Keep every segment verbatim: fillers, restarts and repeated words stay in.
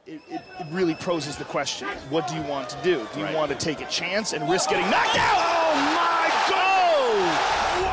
it, it, it really poses the question, what do you want to do? Do you right. want to take a chance and risk getting knocked out? Oh my God!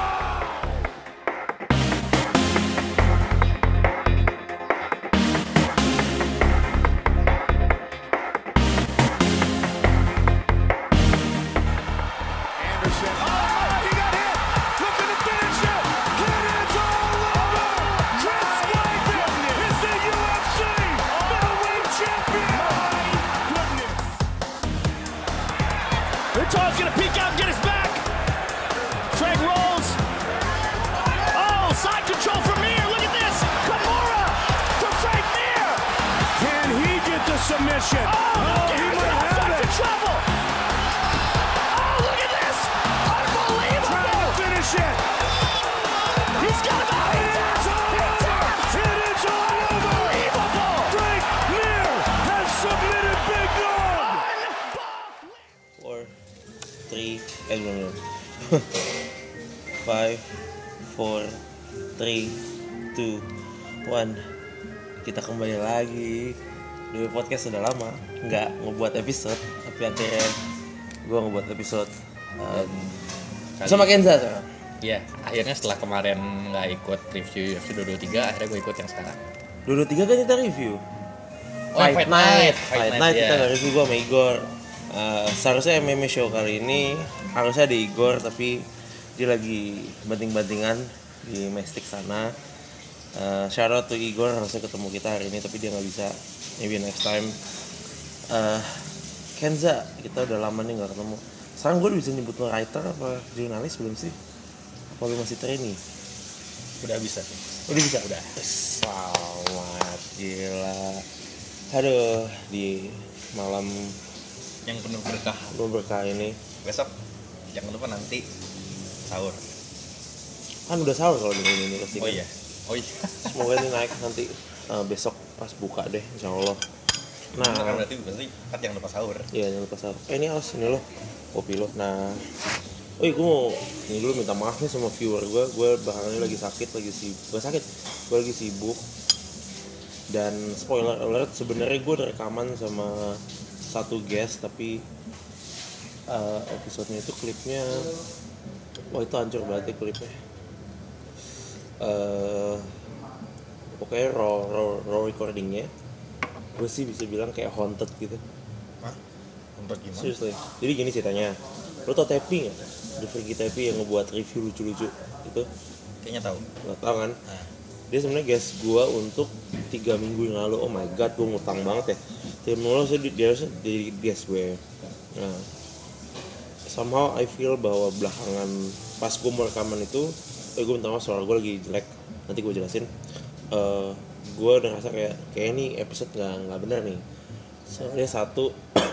Todd's gonna peek out and get his back. Frank rolls. Oh, side control from Mir. Look at this. Kimura to Frank Mir. Can he get the submission? Oh, oh he might have it. Trouble. Oh, look at this. Unbelievable. Trying to finish it. He's got him out. It is all over. It is all over. Unbelievable. Frank Mir has submitted Big Dog. Four. Three, eh belum belum. Five, four, three, two, one. Kita kembali lagi. Di podcast sudah lama nggak ngebuat episode, tapi akhirnya gue ngebuat episode um, sama Kenza sekarang. Iya, akhirnya setelah kemarin nggak ikut review U F C dua dua tiga, akhirnya gue ikut yang sekarang. dua dua tiga kan kita review. Oh, Fight, Fight Night, Night, Fight, Fight Night, Night, kita yeah. nggak review, gue sama Igor. Uh, seharusnya M M A show kali ini harusnya di Igor, tapi dia lagi banting-bantingan di Mestik sana. Uh, shout out to Igor, harusnya ketemu kita hari ini tapi dia nggak bisa, maybe next time. Uh, Kenza, kita udah lama nih nggak ketemu. Sekarang gue bisa nyebut lo writer apa jurnalis belum sih? Apa lu masih trainee? Udah bisa sih. Udah bisa? Udah. Selamat, gila. Aduh, di malam yang penuh berkah. Penuh berkah ini. Besok jangan lupa nanti sahur. Kan udah sahur kalau dengan ini pasti. Oh iya. Oh iya. Semoga ini naik nanti uh, besok pas buka deh, insyaallah. Nah, kan berarti berarti kan jangan lupa sahur. Iya, jangan lupa sahur. Eh ini awas ini loh. Kopi lo. Nah, oh iya, gue mau ini dulu minta maaf nih sama viewer gue. Gue belakangan ini lagi sakit, lagi sibuk. Gue sakit. Gue lagi sibuk. Dan spoiler alert, sebenarnya gue ada rekaman sama satu guest, tapi uh, episodenya itu klipnya, wah itu hancur banget ya klipnya. Uh, pokoknya raw, raw, raw recordingnya, gue sih bisa bilang kayak haunted gitu. Hah? Haunted gimana? Seriously. Jadi gini ceritanya, lo tau Tepi nggak? The Freaky Tepi yang ngebuat review lucu-lucu itu? Kayaknya tahu. Nggak tahu kan? Nah. Dia sebenarnya guest gue untuk tiga minggu yang lalu. Oh my god, gue ngutang banget ya. Tiga minggu lalu dia harusnya jadi guest gue. Nah, somehow I feel bahwa belakangan pas gue mau rekaman itu, eh gue minta maaf suara gue lagi jelek. Nanti gue jelasin. Uh, gue udah ngerasa kayak kayak ini episode nggak nggak bener nih. Soalnya satu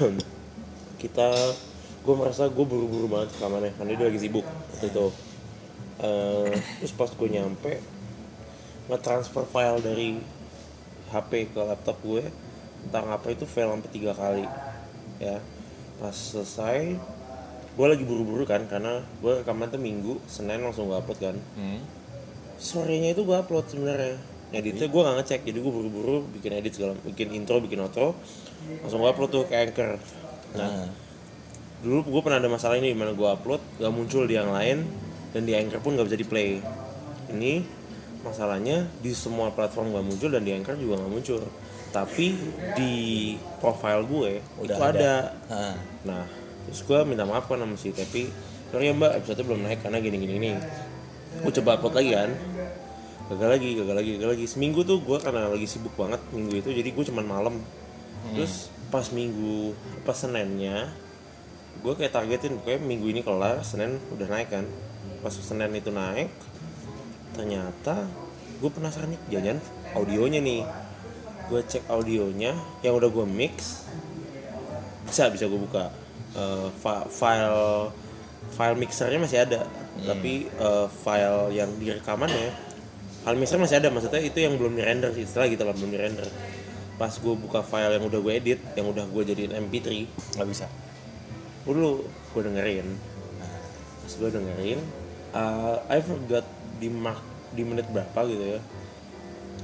kita, gue merasa gue buru-buru banget rekamannya karena dia lagi sibuk gitu. Uh, terus pas gue nyampe nge-transfer file dari H P ke laptop gue, entah ngapa itu fail sampai tiga kali ya. Pas selesai gue lagi buru-buru kan, karena gue rekaman tuh Minggu, Senin langsung gue upload kan. hmm. Sorenya itu gue upload sebenarnya, editnya gue nggak ngecek, jadi gue buru-buru bikin edit segala, bikin intro, bikin outro, langsung gue upload tuh ke Anchor. Nah, hmm. dulu gue pernah ada masalah ini dimana gue upload gak muncul di yang lain, dan di Anchor pun gak bisa di play. Ini masalahnya di semua platform gak muncul dan di Anchor juga gak muncul, tapi di profile gue udah itu ada, ada. Nah, terus gue minta maaf kan sama si Tepi, sorry ya mbak, episode belum naik karena gini-gini nih. Gue coba upload lagi kan, gagal lagi, gagal lagi, gagal lagi. Seminggu tuh gue karena lagi sibuk banget minggu itu, jadi gue cuman malam. hmm. Terus pas minggu, pas Seninnya gue kayak targetin, pokoknya minggu ini kelar, Senin udah naik kan. Pas Senin itu naik, ternyata gue penasaran nih, jangan audionya nih. Gue cek audionya yang udah gue mix, bisa bisa gue buka uh, fa- file file mixernya masih ada, hmm. tapi uh, file yang direkamannya, file mixer masih ada, maksudnya itu yang belum di render sih, setelah gitu lah belum di render. Pas gue buka file yang udah gue edit, yang udah gue jadiin M P three, nggak bisa. Gue dulu gue dengerin, pas gue dengerin, uh, I forgot di mark di menit berapa gitu ya.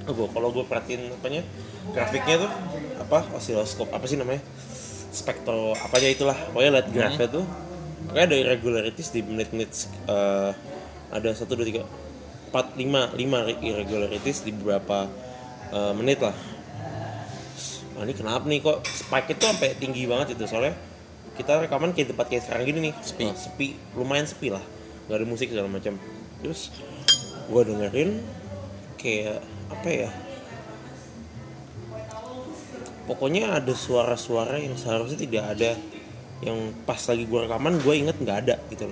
gue kalau gue perhatiin apanya grafiknya tuh apa osiloskop apa sih namanya spektro apanya itulah pokoknya lihat grafnya tuh pokoknya ada irregularities di menit-menit uh, ada satu dua tiga empat lima lima irregularities di beberapa uh, menit lah. Nah, ini kenapa nih kok spike itu sampai tinggi banget itu soalnya kita rekaman kayak tempat kayak sekarang gini nih sepi uh, sepi lumayan sepi lah nggak ada musik segala macam. Terus gue dengerin kayak apa ya pokoknya ada suara-suara yang seharusnya tidak ada yang pas lagi gue rekaman gue inget nggak ada gitu loh.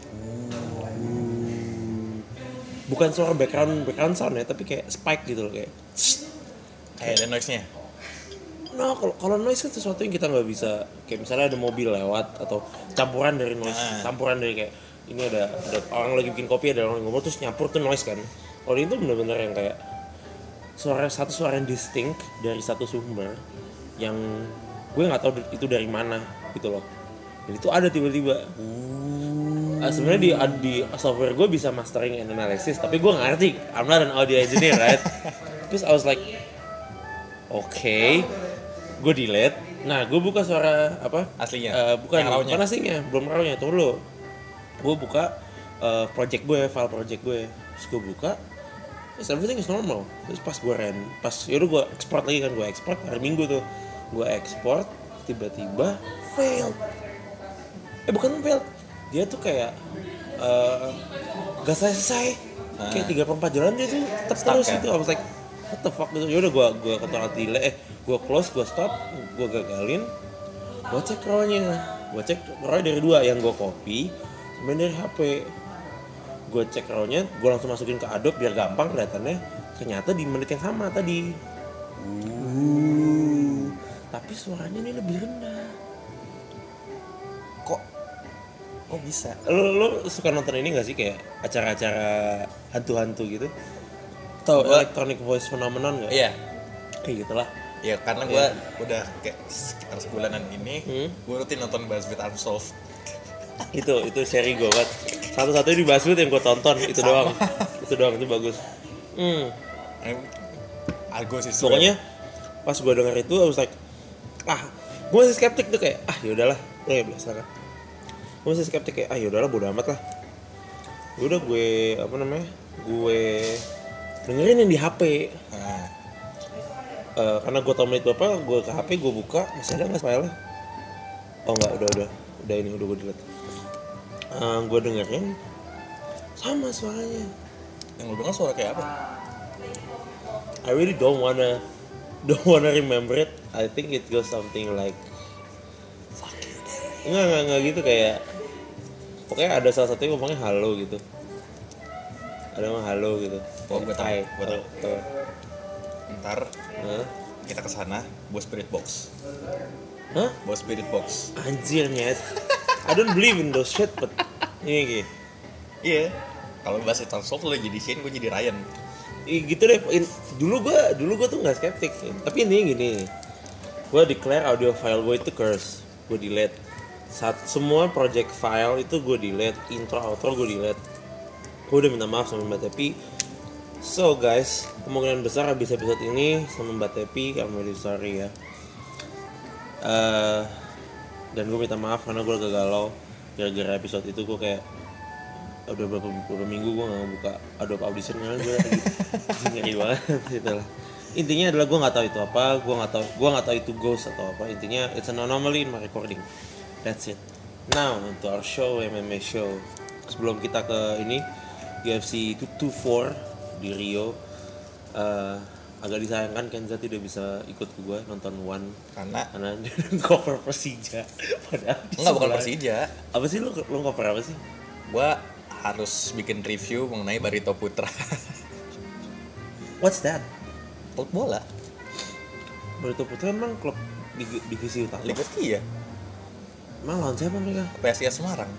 Bukan suara background background sound ya tapi kayak spike gitu loh kayak kayak ada noise-nya. Nah kalau kalau noise kan sesuatu yang kita nggak bisa kayak misalnya ada mobil lewat atau campuran dari noise nah. campuran dari kayak ini ada ada orang lagi bikin kopi ada orang ngomong terus nyampur tuh noise kan. Kalau itu benar-benar yang kayak suara satu suara yang distinct dari satu sumber yang gue nggak tahu itu dari mana gitu loh. Dan itu ada tiba-tiba. Uh, sebenarnya di di software gue bisa mastering and analysis tapi gue nggak ngerti. I'm not an audio engineer right. Terus I was like, oke, okay. Gue delete. Nah gue buka suara apa? Aslinya? Uh, bukan, bukan aslinya, belum rawnya. Tunggu dulu. Gue buka uh, project gue, file project gue. Terus gue buka. Yes, everything is normal. Terus pas gue ren, pas yaudah gue export lagi kan gue export hari Minggu tuh, gue export tiba-tiba failed. Eh bukan failed, dia tuh kayak uh, gak selesai, nah. Kayak tiga per empat jalan dia tuh tetap terus gitu. I was like, what the fuck gitu. Yaudah gue gue kontrol delay, eh gue close, gue stop, gue gagalin, gue cek raw-nya, gue cek raw dari dua yang gue copy, sama dari H P. Gue cek raw-nya, gue langsung masukin ke Adobe biar gampang kelihatannya. Ternyata di menit yang sama tadi. Uh. Tapi suaranya ini lebih rendah. Kok? Kok bisa? Lo, lo suka nonton ini gak sih kayak acara-acara hantu-hantu gitu? Tahu electronic voice phenomenon gak? Iya. Kayak gitulah. Ya karena gue yeah. udah kayak sekitar sebulanan ini, hmm? gue rutin nonton BuzzFeed Unsolved. itu itu seri gue banget satu-satunya di BuzzFeed yang gue tonton itu doang itu doang itu bagus. Hmm. Argo sih. Pokoknya pas gue denger itu, I was like, ah, gue masih skeptik tuh kayak, ah yaudahlah, lo ya biasa kan. Gue masih skeptik kayak, ah yaudahlah bodo amat lah. Udah gue apa namanya, gue dengerin yang di H P. Nah. Uh, karena gue tau menit berapa, gue ke H P gue buka, masih ada nggak file-nya? Oh nggak, udah udah, udah ini udah gue delete. Uh, gue dengerin sama suaranya. Yang lu denger suara kayak apa? I really don't wanna don't wanna remember it. I think it goes something like fuck you deh. Nggak nggak nggak gitu kayak. Pokoknya ada salah satunya ngomongnya halo gitu. Ada ngomong halo gitu. Oh gue tau, gue tau. Uh, Ntar huh? kita kesana bawa spirit box. Hah? Bawa spirit box. Anjir nyet. I don't believe in those shit, but ini gitu. Iya. Kalau bahasa Unsolved lo jadi Shane, gue jadi Ryan. I, gitu deh. In, dulu gue, dulu gue tuh nggak skeptik. Tapi ini gini, gue declare audio file gue itu curse. Gue delete. Saat semua project file itu gue delete. Intro, outro gue delete. Gue udah minta maaf sama Mbak Tepi. So guys, kemungkinan besar habis episode ini sama Mbak Tepi, I'm really sorry ya. Uh, dan gue minta maaf karena gue agak galau gara-gara episode itu. Gue kayak udah beberapa, beberapa minggu gue nggak buka Adobe Audition karena gue lagi ngeri banget gitu lah. Intinya adalah gue nggak tahu itu apa, gue nggak tahu gue nggak tahu itu ghost atau apa. Intinya it's an anomaly in my recording. That's it. Now into our show, M M A show. Sebelum kita ke ini U F C dua dua empat di Rio, uh, agak disayangkan Kenza tidak bisa ikut ke gue nonton One karena karena dia cover Persija. Padahal enggak, bukan Persija. Apa sih lu lu cover apa sih? Gue harus bikin review mengenai Barito Putra. What's that? Klub bola. Barito Putra emang klub di divisi utama. Liga tiga. Emang lawan siapa mereka? P S I S Semarang.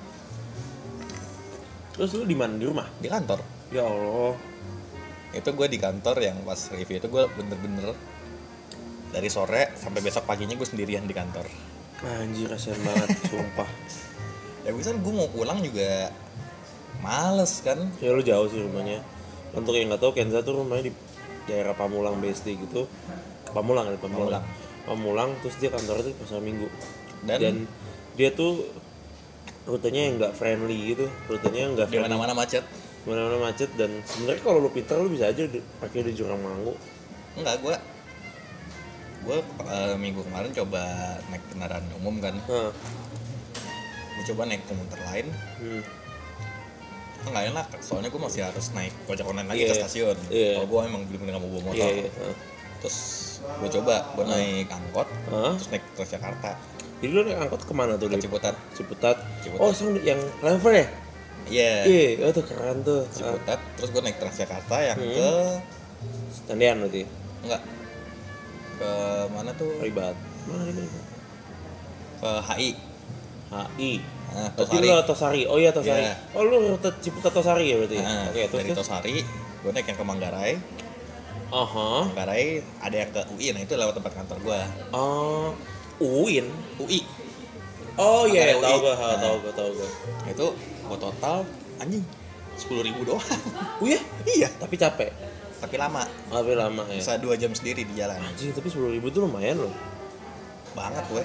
Terus lu di mana? Di rumah? Di kantor. Ya Allah. Itu gue di kantor yang pas review itu gue bener-bener dari sore sampai besok paginya gue sendirian di kantor. Anjir kasihan banget, sumpah. Ya bisa gue mau pulang juga males kan. Ya lu jauh sih rumahnya. Untuk yang nggak tahu, Kenza tuh rumahnya di daerah Pamulang B S D gitu. Pamulang kan Pamulang. Pamulang. Pamulang terus dia kantornya tuh pasar Minggu. Dan, Dan dia tuh rutenya yang nggak friendly gitu, rutenya nggak di friendly. mana-mana macet. Mana-mana macet dan sebenarnya kalau lu pintar lu bisa aja di, pakai di Jurang Mangu. Enggak, gue gue uh, minggu kemarin coba naik kendaraan umum kan. Nah. Gue coba naik komuter lain. Hmm. Nggak enak, soalnya gue masih harus naik ojek online lagi Yeah. ke stasiun. Yeah. Kalau gue emang bener-bener nggak mau bawa motor. Iya, iya. Nah. Terus gue coba, gue naik angkot, Hah? terus naik Transjakarta Jadi lu naik angkot kemana tuh? ke Dari Ciputat. Ciputat. Ciputat. Oh, sang yang Clever ya? Iya. Iya, oh tuh keren tuh. Ah, Ciputat, terus gue naik Transjakarta yang Hmm. ke Tendean berarti. enggak ke mana tuh? Ribat. Mana ini? Ke H I. H I. Nah, Berarti Tosari. lu lewat Tosari. Oh iya Tosari. Iya. Oh lu rute Ciputat Tosari ya berarti. Nah, Oke, terus dari terus. Tosari, gue naik yang ke Manggarai. Aha. Manggarai ada yang ke U I, nah itu lewat tempat kantor gue. Oh, Uin. U I. Oh iya, Manggarai tahu U I. gua, Nah. tahu gua, tahu gua. Itu gue total anjing sepuluh ribu doang. Oh iya? Iya, Tapi capek. tapi lama. Tapi lama ya. Bisa dua jam sendiri di jalan. Anjing, tapi sepuluh ribu tuh lumayan loh. Banget gue.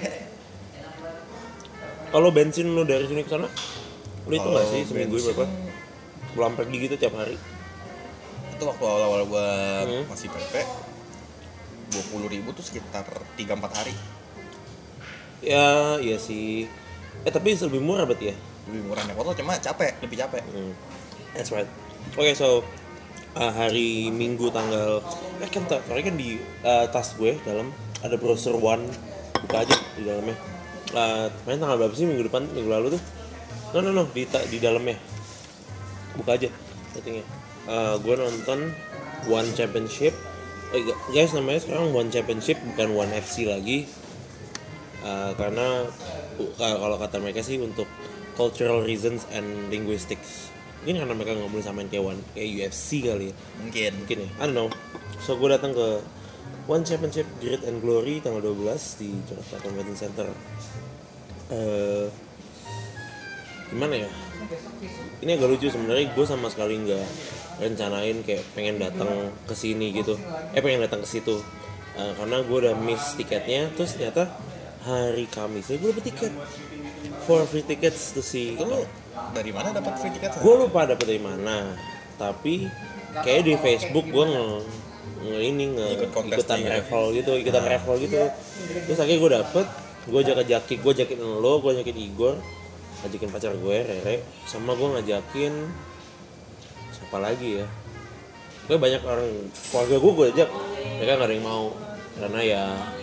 Kalau bensin lu dari sini ke sana, lu itu nggak Kalau sih seminggu bensin, berapa? Pulang pergi gitu tiap hari. Itu waktu awal-awal gue Hmm. masih P P, dua puluh ribu tuh sekitar tiga empat hari. Ya, iya sih. Eh tapi lebih murah berarti ya? Lebih murah naik motor, cuma capek, lebih capek. Hmm. That's right. Oke, so uh, hari Minggu tanggal eh kan tak, kan di uh, tas gue dalam ada browser One, buka aja di dalamnya. Uh, main tanggal berapa sih minggu depan, minggu lalu tuh? No no no di ta- di dalamnya. Buka aja settingnya. Uh, gue nonton One Championship. Oh, guys, namanya sekarang One Championship bukan One F C lagi. Uh, karena uh, kalau kata mereka sih untuk cultural reasons and linguistics. Mungkin karena mereka nggak boleh samain kayak One kayak U F C kali ya. Mungkin. Mungkin ya. I don't know. So gue datang ke One Championship Grit and Glory tanggal dua belas di Jakarta Convention Center. Uh, gimana ya? Ini agak lucu sebenarnya. Gue sama sekali nggak rencanain kayak pengen datang ke sini gitu. Eh pengen datang ke situ. Uh, karena gue udah miss tiketnya. Terus ternyata hari Kamis ya gue dapet tiket. Four free tickets to see. Itu lu dari mana dapat free tiket? Gue lupa dapet dari mana. Tapi kayak di Facebook gue nge, nge ini nge Ikut kontes ikutan juga. raffle gitu, ikutan Nah. raffle gitu. Terus akhirnya gue dapet, gue ajak ajakin, gue ajakin lo, gue ajakin Igor, ajakin pacar gue Rere, sama gue ngajakin siapa lagi ya? Gue banyak orang keluarga gue gue ajak, mereka nggak ada yang mau karena ya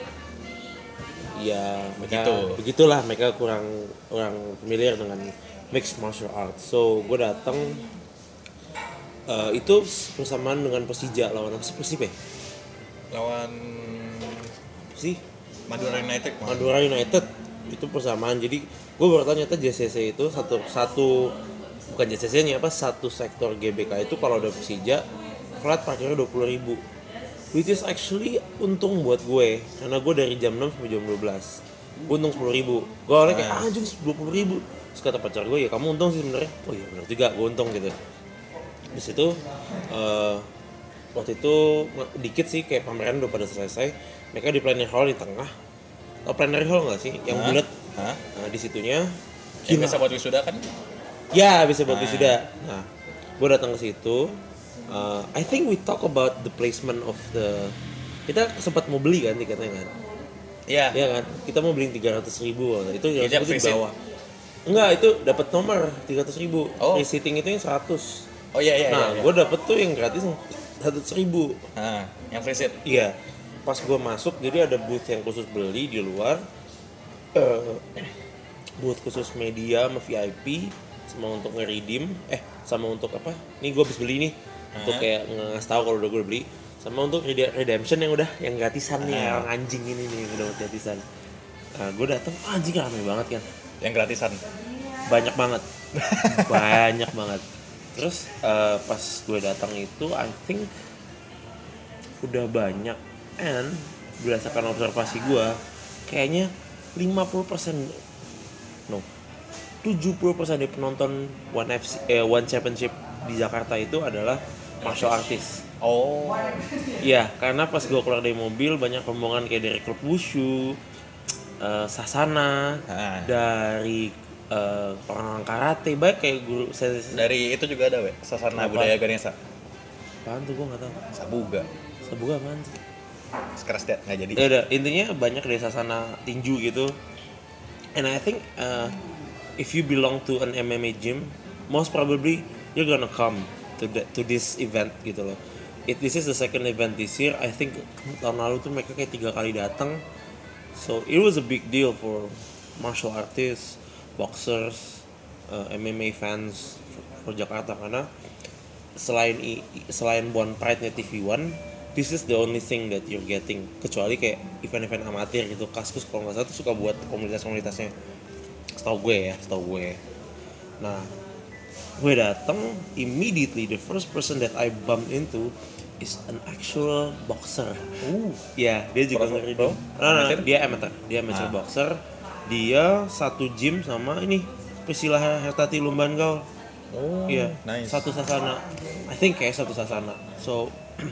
ya mereka Begitu. begitulah, mereka kurang kurang familiar dengan mixed martial arts. So gue datang uh, itu bersamaan dengan Persija lawan apa sih Persib ya? Lawan Sih Madura United. Madura United itu persamaan. Jadi gue baru tahu ternyata J C C itu satu satu bukan J C C-nya apa satu sektor G B K itu kalau ada Persija flat parkirnya dua puluh ribu, which is actually untung buat gue karena gue dari jam enam sampai jam dua belas gue untung sepuluh ribu. Gue awalnya kayak ah, anjing dua puluh ribu. Terus kata pacar gue ya kamu untung sih sebenarnya. Oh iya benar juga gue untung gitu. Terus itu uh, waktu itu dikit sih kayak pameran udah pada selesai. Mereka di plenary hall di tengah. Tau plenary hall nggak sih? Yang Hah? bulat. Hah? Nah di situnya Yang biasa buat wisuda kan? ya bisa buat Ah. wisuda. Nah, gue datang ke situ. Uh, I think we talk about the placement of the. Kita sempat mau beli kan tiketnya kan? Iya. Iya kan? Kita mau beli tiga ratus ribu. Itu tiga Iya, ratus ribu free di seat. bawah. Enggak, itu dapat nomor tiga ratus ribu. Oh. Free seating itu yang seratus. Oh iya iya. Nah, iya, iya. gue dapet tuh yang gratis seratus ribu. Nah, yang free seat. Iya. Pas gue masuk, jadi ada booth yang khusus beli di luar. Uh, booth khusus media sama V I P sama untuk nge-redeem eh sama untuk apa nih gue habis beli nih untuk Hah? kayak ngasih tahu kalau udah gue beli sama untuk rede- redemption yang udah yang gratisan nih Ah. orang anjing ini nih yang udah gratisan. Nah, gue datang ah, anjing rame banget kan, Yang gratisan. banyak banget banyak banget. Terus uh, pas gue datang itu I think udah banyak and berdasarkan observasi gue kayaknya lima puluh persen no tujuh puluh persen dari penonton One F C eh, One Championship di Jakarta itu adalah martial artist. Oh. Iya, karena pas gue keluar dari mobil banyak rombongan kayak dari klub wushu, uh, sasana, Ah. dari uh, orang-orang karate, baik kayak guru saya. Dari itu juga ada, we. Sasana Apa? Budaya Ganesha. Apaan tuh gue nggak tahu. Sabuga. Sabuga apaan sih? Sekeras dia nggak jadi. Ya udah, intinya banyak dari sasana tinju gitu. And I think uh, if you belong to an M M A gym, most probably you're gonna come to the, to this event gitu loh. It, this is the second event this year. I think tahun lalu tuh mereka kayak tiga kali datang. So it was a big deal for martial artists, boxers, uh, M M A fans for, for Jakarta karena selain i, selain Bon Pride-nya T V One, this is the only thing that you're getting. Kecuali kayak event-event amatir gitu. Kaskus kalau nggak salah tuh suka buat komunitas-komunitasnya. Setahu gue ya, setahu gue. Nah, gue datang, immediately the first person that I bumped into is an actual boxer. Uh. Ya, dia juga Pro- ngeri. pro? Nah, nah, Amateur? dia amateur, dia amateur Ah. boxer. Dia satu gym sama ini Priscilla Hertati Lumbangaol. Oh. Iya, Nice. satu sasana. I think kayak satu sasana. So,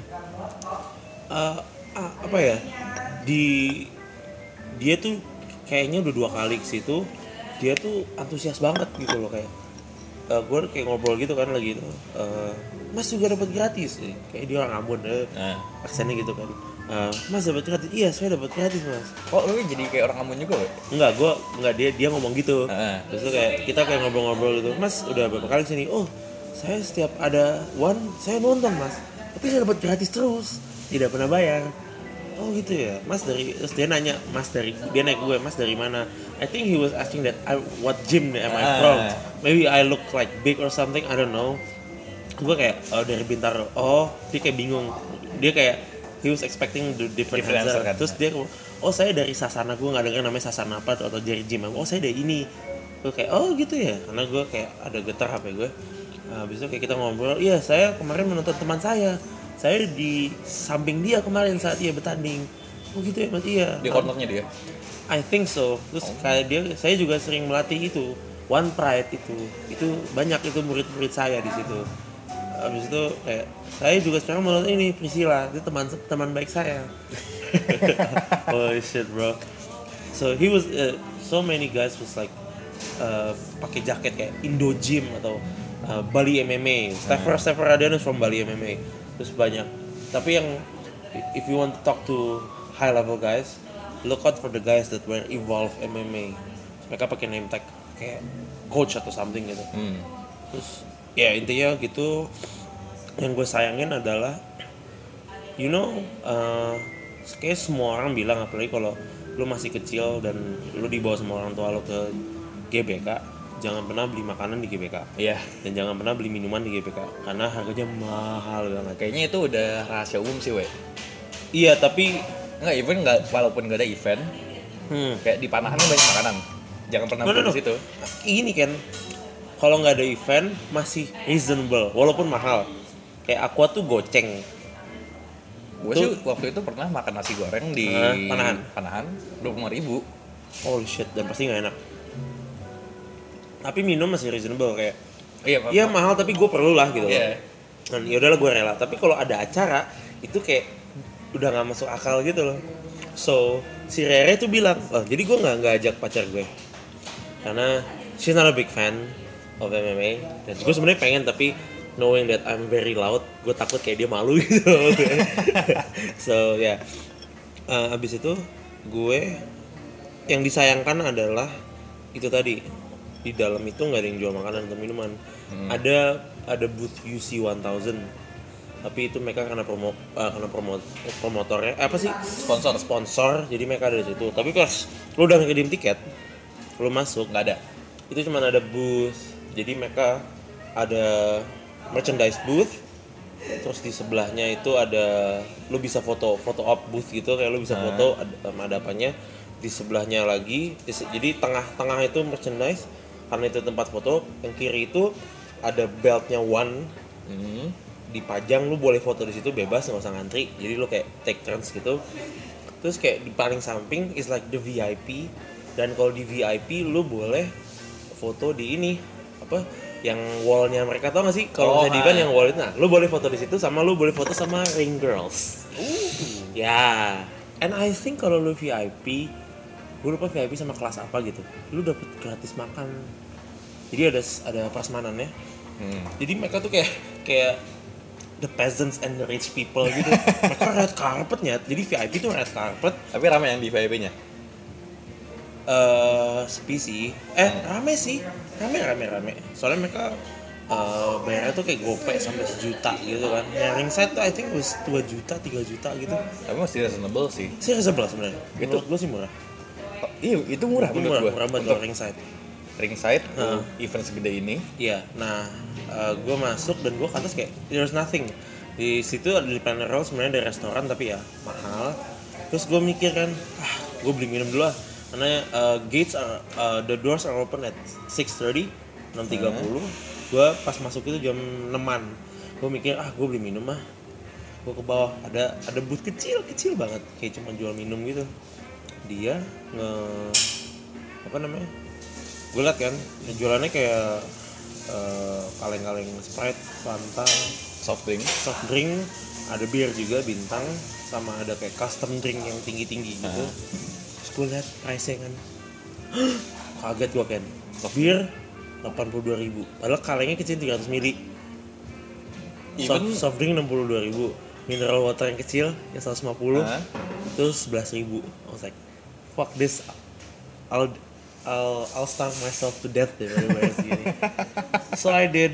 uh, ah, apa ya? Di dia tuh kayaknya udah dua kali ke situ. Dia tuh antusias banget gitu loh kayak. Uh, gue kayak ngobrol gitu kan lagi itu. Uh, Mas juga dapat gratis. Kayak dia orang Ambon, eh, Nah. aksennya gitu kan. Uh, mas dapat gratis? Iya, saya dapat gratis mas. Oh, lu jadi kayak orang Ambon juga, we? Enggak, gue enggak dia dia ngomong gitu. Heeh. Terus tuh kayak kita kayak ngobrol-ngobrol gitu. Mas udah berapa kali sini? Oh, saya setiap ada one saya nonton mas. Tapi saya dapat gratis terus, tidak pernah bayar. Oh gitu ya, mas dari terus dia nanya mas dari dia naik gue mas dari mana? I think he was asking that I, what gym am I from? Ah. Maybe I look like big or something, I don't know. Gue kayak oh dari Bintaro. Oh dia kayak bingung. Dia kayak he was expecting the different, Different answer. answer kan. Terus dia oh saya dari Sasana, gue nggak dengar namanya Sasana apa atau dari gym. Oh saya dari ini. Gue kayak oh gitu ya, karena gue kayak ada getar H P gue. Nah, habis itu kayak kita ngobrol. Iya saya kemarin menonton teman saya. Saya di samping dia kemarin saat dia bertanding. Oh gitu ya mas iya. Di cornernya dia. I think so. Terus kayak dia, saya juga sering melatih itu One Pride itu, itu banyak itu murid-murid saya di situ. Habis itu kayak saya juga sekarang mau nonton ini Priscilla, itu teman teman baik saya. Oh shit bro. So he was uh, so many guys was like uh, pakai jaket kayak Indo Gym atau uh, Bali M M A. Steffer Steffer Radianus from Bali M M A. Terus banyak. Tapi yang if you want to talk to high level guys, look out for the guys that were Evolve M M A. Mereka pakai name tag kayak coach atau something gitu. Hmm. Terus ya intinya gitu. Yang gue sayangin adalah you know uh, kayak semua orang bilang apalagi kalau lu masih kecil dan lu dibawa sama orang tua lu ke G B K, jangan pernah beli makanan di G B K. Iya. Dan jangan pernah beli minuman di G B K karena harganya mahal banget. Kayaknya itu udah rahasia umum sih, we. Iya, tapi Enggak, even enggak walaupun enggak ada event, hmm, kayak di Panahan banyak makanan. Jangan pernah No, no, beli no. di situ. Ini kan kalau nggak ada event masih reasonable walaupun mahal. Kayak Aqua tuh goceng. Gue Tuh. sih waktu itu pernah makan nasi goreng di Hah? Panahan? Panahan dua puluh lima ribu. Holy shit, dan pasti nggak enak. Tapi minum masih reasonable kayak Iya, iya mahal tapi gue perlu lah gitu. Iya. Dan ya udahlah gue rela. Tapi kalau ada acara itu kayak udah nggak masuk akal gitu loh. So si Rere tuh bilang, oh jadi gue nggak nggak ajak pacar gue karena she's not a big fan of M M A. Dan gue sebenarnya pengen tapi knowing that I'm very loud, gue takut kayak dia malu gitu. So ya, yeah. uh, abis itu gue yang disayangkan adalah itu tadi di dalam itu nggak ada yang jual makanan atau minuman. Hmm. Ada ada booth U C ten, tapi itu mereka karena promo uh, karena promo promotornya eh, apa sih Sponsor. sponsor, jadi mereka ada di situ. Tapi pas lu udah ngedim tiket, lu masuk Nggak ada. itu cuma ada booth, jadi mereka ada merchandise booth, terus di sebelahnya itu ada lu bisa foto foto op booth gitu, kayak lu bisa Ah. foto ada, ada apanya di sebelahnya lagi. Di- jadi tengah-tengah itu merchandise karena itu tempat foto, yang kiri itu ada beltnya One Hmm. dipajang, lu boleh foto di situ bebas nggak usah ngantri, jadi lu kayak take turns gitu. Terus kayak di paling samping is like the V I P, dan kalau di V I P lu boleh foto di ini apa yang wallnya mereka, tau gak sih kalau Oh, misalnya di event ha. yang wall itu, nah lu boleh foto di situ sama lu boleh foto sama ring girls. Uh. Ya, and I think kalau lu V I P, gue lupa V I P sama kelas apa gitu, lu dapet gratis makan. Jadi ada ada prasmanannya. Hmm. Jadi mereka tuh kayak kayak the peasants and the rich people gitu. Mereka red carpetnya, jadi V I P tuh red carpet. Tapi ramai yang di V I P-nya. Eh, sepi sih. Eh, rame sih. Rame, rame, rame. Soalnya mereka eh bayarnya tuh kayak gopay sampai sejuta gitu kan. Yang ringside tuh I think was dua juta, tiga juta gitu. Tapi masih reasonable sih. Sih reasonable sebenarnya. Itu gue sih murah. Oh, iya, itu murah Itu menurut murah, gua. murah banget Untuk kalau ringside. ringside, Heeh. event segede ini. Iya. Nah, gue masuk dan gue ke atas kayak there's nothing. Di situ ada di Planet Roll sebenarnya ada restoran tapi ya mahal. Terus gue mikir kan, ah, gue beli minum dulu lah. Karena uh, gates are, uh, the doors are open at six thirty, enam tiga puluh. Gue pas masuk itu jam enaman. Gue mikir, ah gue beli minum ah. Gue ke bawah, ada ada booth kecil kecil banget, kayak cuma jual minum gitu. Dia nge apa namanya? Gue liat kan, jualannya kayak uh, kaleng-kaleng Sprite, Fanta, Soft drink. soft drink, ada bir juga bintang, sama ada kayak custom drink yang tinggi-tinggi gitu. Uh-huh. Terus gue liat price-nya kan, kaget gue kan, bir delapan puluh dua ribu, padahal kalengnya kecil tiga ratus mili. Soft, Even- soft drink enam puluh dua ribu, mineral water yang kecil yang seratus lima puluh, Uh-huh. terus sebelas ribu. I was like, fuck this, I'll I'll I'll starve myself to death deh dari bayar segini. So I did.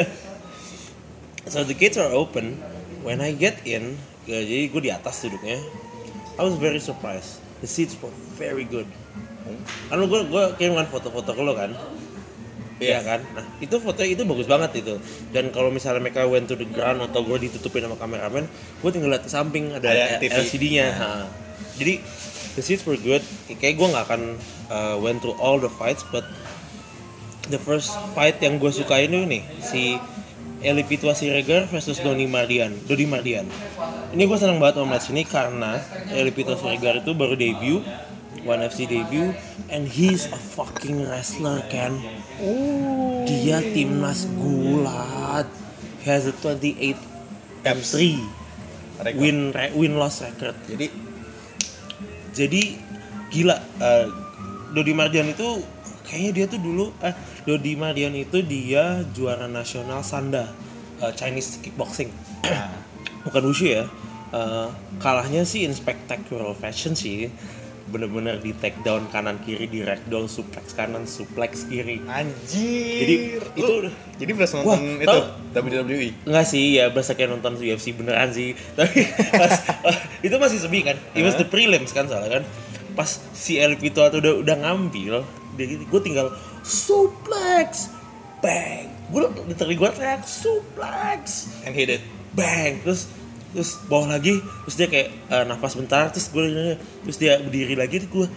So the gates are open. When I get in, ya, jadi gue di atas duduknya. I was very surprised. The seats were very good. Kan lu gue gue kirimkan foto-foto ke lo kan. Iya kan. Nah itu fotonya itu bagus banget itu. Dan kalau misalnya mereka went to the ground atau gue ditutupin sama kameramen, gue tinggal lihat ke samping ada, Ada T V. L C D-nya. Nah. Jadi the seats were good. Kayak gue nggak akan uh, went through all the fights, but the first fight yang gue sukain itu nih si Eli Pitwa Siregar versus Dodi Mardian. Dodi Mardian. Ini gue senang banget mau melihat sini karena Eli Pitwa Siregar itu baru debut, One F C debut, and he's a fucking wrestler kan. Dia timnas gulat. He has a twenty-eight and three Record. win re- win loss record. Jadi Jadi gila, uh, Dodi Mardian itu kayaknya dia tuh dulu eh Dodi Mardian itu dia juara nasional Sanda, uh, Chinese kickboxing. Bukan wushu ya. Uh, kalahnya sih in spectacular fashion sih. Bener-bener di take down kanan kiri, di ragdoll, suplex kanan, suplex kiri. anjir. Jadi Lu- itu jadi berasa Wah, nonton itu tau- W W E. Enggak sih, ya berasa kayak nonton U F C beneran sih. Tapi pas, itu masih sepi kan. It was the prelims kan soalnya kan. Pas si El Pito tuh udah udah ngambil, dia gue tinggal suplex, bang. Gue literally gue teriak suplex, And hit it. bang. Terus terus bawah lagi, terus dia kayak uh, nafas bentar, terus gue terus dia berdiri lagi, terus gue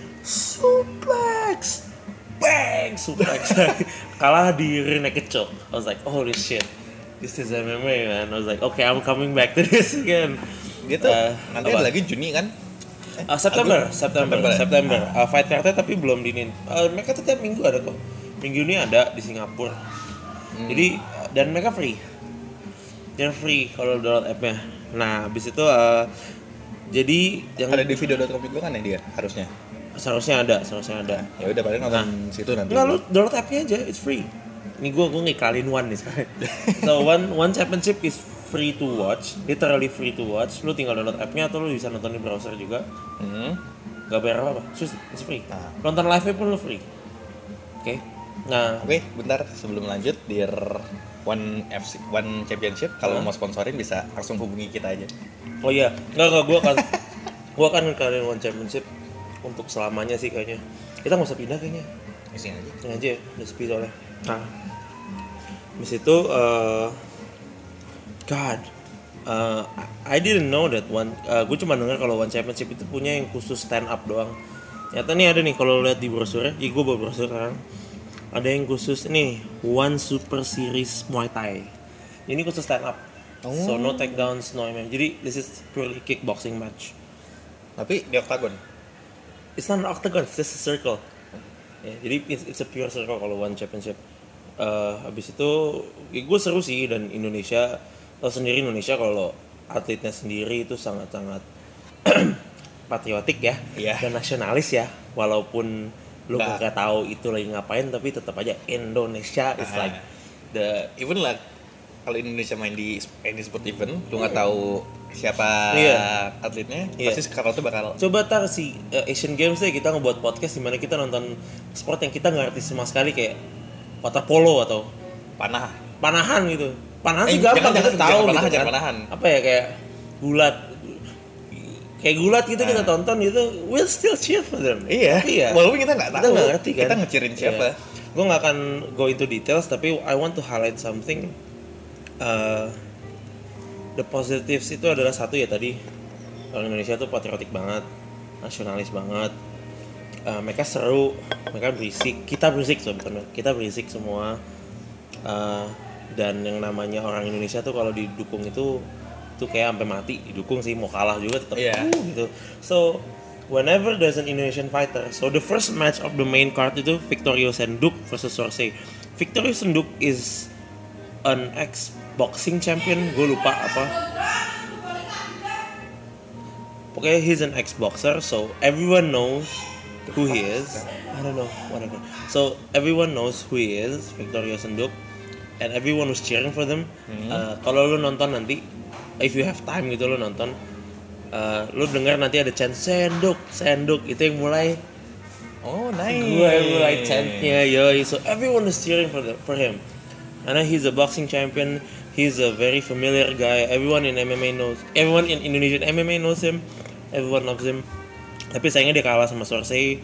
suplex, bang, suplex. Kalah di rear naked choke. I was like, holy shit, this is M M A man. I was like, okay, I'm coming back to this again. Dia tuh Uh, nanti apa? ada lagi Juni kan? Uh, September, Aduh, September, September ya? September. Uh, fight card-nya tapi belum dinin. Uh, mereka tuh tiap minggu ada kok. Minggu ini ada di Singapura. Hmm. Jadi uh, dan mereka free. They're free kalau download app-nya. Nah, habis itu uh, jadi yang Ada di video dot com juga kan ya dia harusnya. seharusnya ada, seharusnya ada. Ya udah paling nonton situ nanti. Enggak, lu download app-nya aja, it's free. Ini gue gue ngikalin one nih sekarang. So one one championship is free to watch, literally free to watch. Lu tinggal download app-nya atau lu bisa nonton di browser juga. Hmm. Gak bayar apa-apa, Sus, it's free. Nah. Nonton live-nya pun lu free. Oke. Nah, Oke, bentar sebelum lanjut, Dear One F C One Championship, kalau Hah? mau sponsorin bisa langsung hubungi kita aja. oh iya, enggak enggak gue akan gue akan ngekalahin one championship untuk selamanya sih kayaknya. Kita nggak usah pindah kayaknya. Isinya aja. Ini aja ya, udah sepi soalnya. Nah, habis itu, uh, God, uh, I didn't know that one. Uh, gue cuma dengar kalau one championship itu punya yang khusus stand up doang. Ternyata nih ada nih kalau lihat di brosurnya, ya gue bawa brosur sekarang. Ada yang khusus nih, One Super Series Muay Thai. Ini khusus stand up. So no takedowns, no M M. Jadi this is purely kickboxing match. Tapi di octagon. It's not an octagon, it's just a circle. Ya, jadi it's, it's a pure circle kalau one championship. Uh, habis itu ya gue seru sih, dan Indonesia tau sendiri Indonesia kalau atletnya sendiri itu sangat-sangat patriotik ya, Iya. dan nasionalis ya, walaupun lu Nah. nggak tahu itu lagi ngapain, tapi tetap aja Indonesia is Nah. like the Even lah kalau Indonesia main di any sport event, lu nggak tahu siapa Iya. atletnya, Iya. pasti sekarang tuh bakal coba tar si uh, Asian Games deh kita ngebuat podcast di mana kita nonton sport yang kita nggak ngerti sama sekali kayak water polo atau panah. panahan gitu. Panahan Eh, sih gampang jangan- kita jangan- tahu jangan gitu panahan, kan. jangan panahan. Apa ya kayak gulat. Kayak gulat gitu kita Nah. tonton gitu, we'll still cheer for them. Iya. Tapi ya, Walaupun kita nggak kita tahu. nggak ngerti kan. Kita ngecirin siapa. Gue nggak akan go into details, tapi I want to highlight something. Uh, the positives itu adalah satu ya tadi, orang Indonesia tuh patriotik banget, nasionalis banget. Uh, mereka seru, mereka berisik, kita berisik sebenarnya, kita berisik semua. Uh, dan yang namanya orang Indonesia tuh kalau didukung itu tuh kayak sampai mati, didukung sih, mau kalah juga tetap Iya. uh, gitu. So whenever there's an Indonesian fighter, so the first match of the main card itu Victorio Senduk versus Sorsei. Victorio Senduk is an ex boxing champion, gue lupa apa. Pokoknya he's an ex boxer, so everyone knows who he is. I don't know, whatever. So everyone knows who he is, Victorio Senduk, and everyone was cheering for them. Uh, kalau lu nonton nanti, if you have time gitu lu nonton, uh, lu dengar nanti ada chant Senduk, Senduk, itu yang mulai Oh, nice. gue yang mulai chantnya, yoi. So everyone is cheering for the, for him. Karena he's a boxing champion, he's a very familiar guy. Everyone in M M A knows, everyone in Indonesian M M A knows him, everyone loves him. Tapi sayangnya dia kalah sama Sorsei.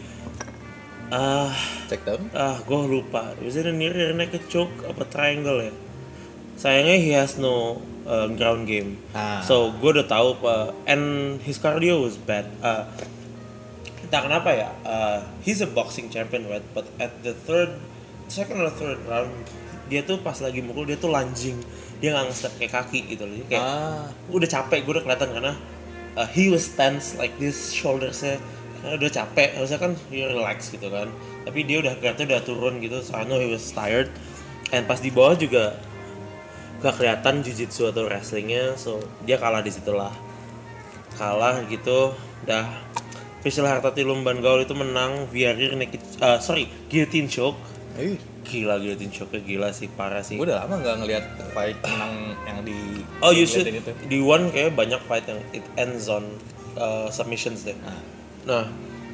Ah, Check down. ah, gue lupa. Was it a near rear naked choke apa triangle ya? Sayangnya he has no uh, ground game. Ah. So gue udah tahu pak. And his cardio was bad. Uh, entah kenapa ya. Uh, he's a boxing champion, right? But at the third, second or third round, dia tuh pas lagi mukul dia tuh lunging. Dia nggak nge-step kayak kaki gitu loh. Jadi kayak Ah. udah capek, gue udah kelihatan karena uh, he was tense like this, shouldersnya karena udah capek, harusnya kan he relax gitu kan, tapi dia udah kelihatan udah turun gitu, so I know he was tired. And pas di bawah juga gak kelihatan jiu-jitsu atau wrestlingnya, so dia kalah di situlah, kalah gitu. Udah Facial Hartati Lumban Gaul itu menang via rear naked, uh, sorry guillotine choke. Eh, Gila guillotine choke gila sih, parah sih. gue udah lama nggak ngeliat fight menang yang di. Oh you yang should, itu. di one kayak banyak fight yang it ends on uh, submissions deh. Nah. Nah,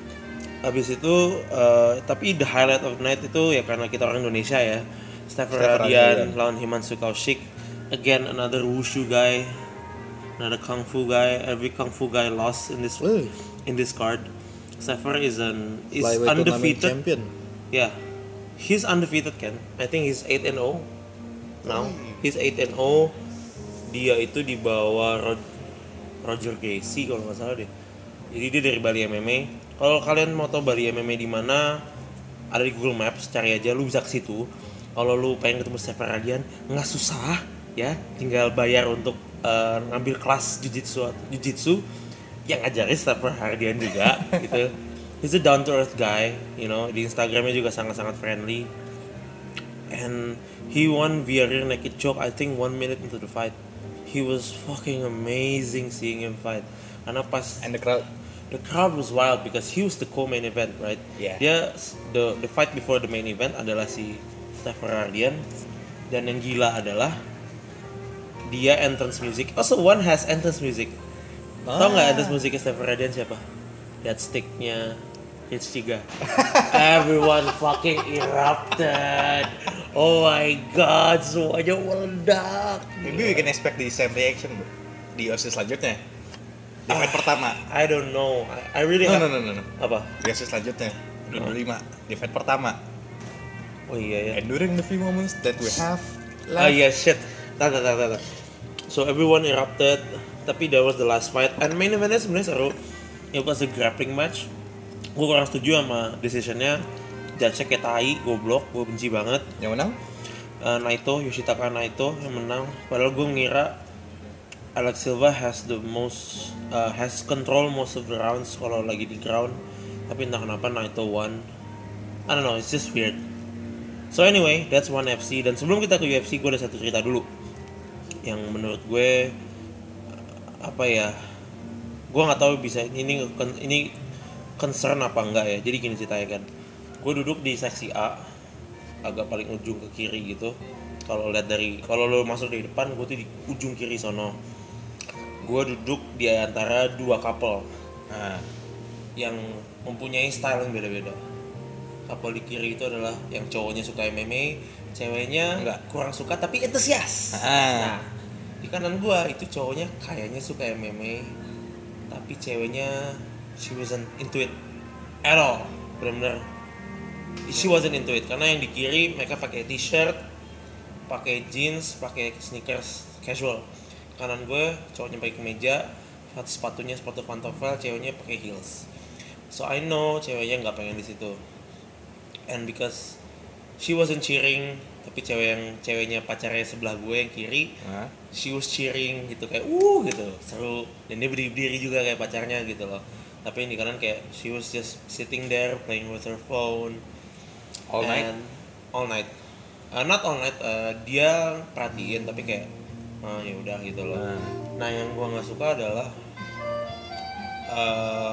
habis itu, uh, tapi the highlight of the night itu ya karena kita orang Indonesia ya. Stefan Stefan Radian Radian. lawan Himanshu Kaushik. Again another wushu guy, another kung fu guy. Every kung fu guy lost in this Wih. in this card. Stefan is an is Flyweight tournament undefeated. champion. Yeah, he's undefeated kan. I think he's eight and oh now. He's eight and oh. Dia itu di bawah Rod- Roger Gacy kalau nggak salah deh. Jadi dia dari Bali M M A. Kalau kalian mau tahu Bali M M A di mana, ada di Google Maps, cari aja, lu bisa ke situ. Kalau lu pengen ketemu Stefan Radian, nggak susah ya, tinggal bayar untuk uh, ngambil kelas jiu-jitsu jiu-jitsu yang ngajarin Stefan Radian juga gitu. He's a down to earth guy, you know, di Instagramnya juga sangat-sangat friendly. And he won via rear naked choke, I think one minute into the fight. He was fucking amazing seeing him fight. Karena pas And the crowd. the crowd was wild because he was the co-main event, right? Yeah. Dia the the fight before the main event adalah si Stefan Radian, dan yang gila adalah dia entrance music. Also one has entrance music. Tahu nggak entrance musiknya Stefan Radian siapa? That sticknya H tiga. Everyone fucking erupted. Oh my god, semuanya meledak. Maybe we can expect the same reaction bro. Di U F C selanjutnya. Di fight pertama. I don't know. I, I really No, have- no, no, no, no. Apa? Di U F C selanjutnya. Di dua puluh lima. Di fight pertama. Oh iya ya. And during the few moments that we have Oh left. yeah, shit. Tar, tar, tar, tar, tar. So everyone erupted, tapi that was the last fight. And main eventnya sebenarnya seru. It was a grappling match. Gue kurang setuju sama decisionnya. Judge-nya kayak tai, goblok, gue benci banget. Yang menang? Uh, Naito, Yoshitaka Naito yang menang. Padahal gue ngira Alex Silva has the most, uh, has control most of the rounds kalau lagi di ground. Tapi entah kenapa Naito won. I don't know, it's just weird. So anyway, that's One F C. Dan sebelum kita ke U F C, gue ada satu cerita dulu yang menurut gue apa ya, gue nggak tahu bisa ini ini concern apa enggak ya. Jadi gini ceritanya kan, gue duduk di seksi A, agak paling ujung ke kiri gitu. Kalau lihat dari, kalau lo masuk dari depan, gue tuh di ujung kiri sono. Gue duduk di antara dua couple nah, yang mempunyai style yang beda-beda. Couple di kiri itu adalah yang cowoknya suka M M A, ceweknya nggak kurang suka tapi antusias. Ah. Nah, di kanan gue itu cowoknya kayaknya suka M M A, tapi ceweknya she wasn't into it at all, benar-benar she wasn't into it. Karena yang di kiri mereka pakai t-shirt, pakai jeans, pakai sneakers casual. Kanan gue cowoknya pakai kemeja, sepatunya sepatu pantofel, ceweknya pakai heels. So I know ceweknya nggak pengen di situ. And because she wasn't cheering, tapi cewek yang ceweknya pacarnya sebelah gue yang kiri, huh? She was cheering gitu kayak uh gitu, seru. Dan dia berdiri-berdiri juga kayak pacarnya gitu loh. Tapi yang di kanan kayak she was just sitting there playing with her phone. All night? And all night. Uh, not all night. Uh, dia perhatiin tapi kayak ah ya udah gitu loh. Nah, nah yang gua nggak suka adalah uh,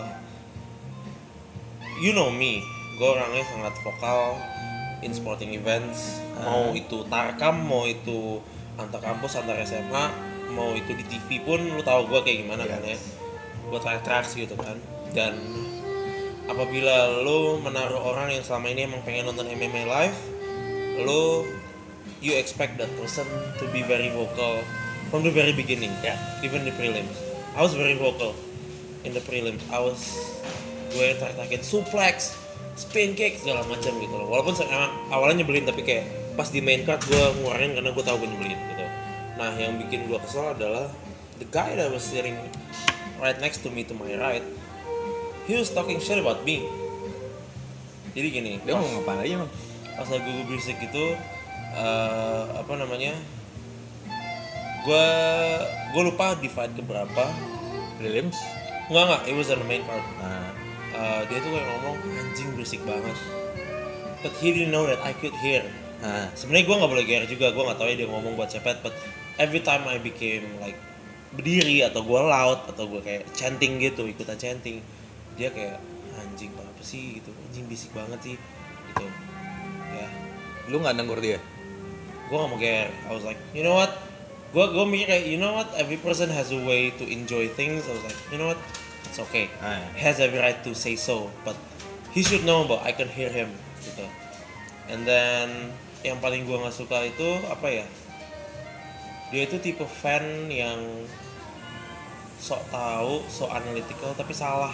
you know me, gua orangnya sangat vokal in sporting events. Uh. Mau itu tarkam, mau itu antar kampus, antar S M A, mau itu di T V pun lu tahu gua kayak gimana yes. Kan ya. Gua teriak-teriak gitu kan. Dan apabila lu menaruh orang yang selama ini emang pengen nonton M M A live, lu you expect that person to be very vocal from the very beginning, yeah. Even the prelims, I was very vocal in the prelims. I was gue teriak-teriakin suplex, spin kick segala macam gitu loh. Walaupun emang awalnya nyebelin tapi kayak pas di main card gue ngeluarin karena gue tahu gue nyebelin gitu. Nah yang bikin gue kesel adalah the guy that was sitting right next to me to my right, he was talking shit about me. Jadi gini, dia mau ngapain aja emang? Pas lagi gue berisik gitu, uh, apa namanya, gue gue lupa di fight keberapa. Prelims? Enggak enggak, it was on the main card. Nah. Uh, dia tuh kayak ngomong anjing berisik banget. But he didn't know that I could hear. Nah. Sebenarnya gue nggak boleh G R juga, gue nggak tahu ya dia ngomong buat siapa. But every time I became like berdiri atau gue loud atau gue kayak chanting gitu, ikutan chanting, dia kayak anjing apa sih gitu, anjing bisik banget sih gitu. Ya, lu nggak nanggur dia? Gue nggak mau care. I was like, you know what? Gue gue mikir kayak, you know what? Every person has a way to enjoy things. I was like, you know what? It's okay. Ah, ya. He has every right to say so, but he should know about I can hear him gitu. And then yang paling gue nggak suka itu apa ya? Dia itu tipe fan yang sok tahu, sok analytical tapi salah.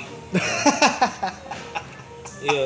Iya.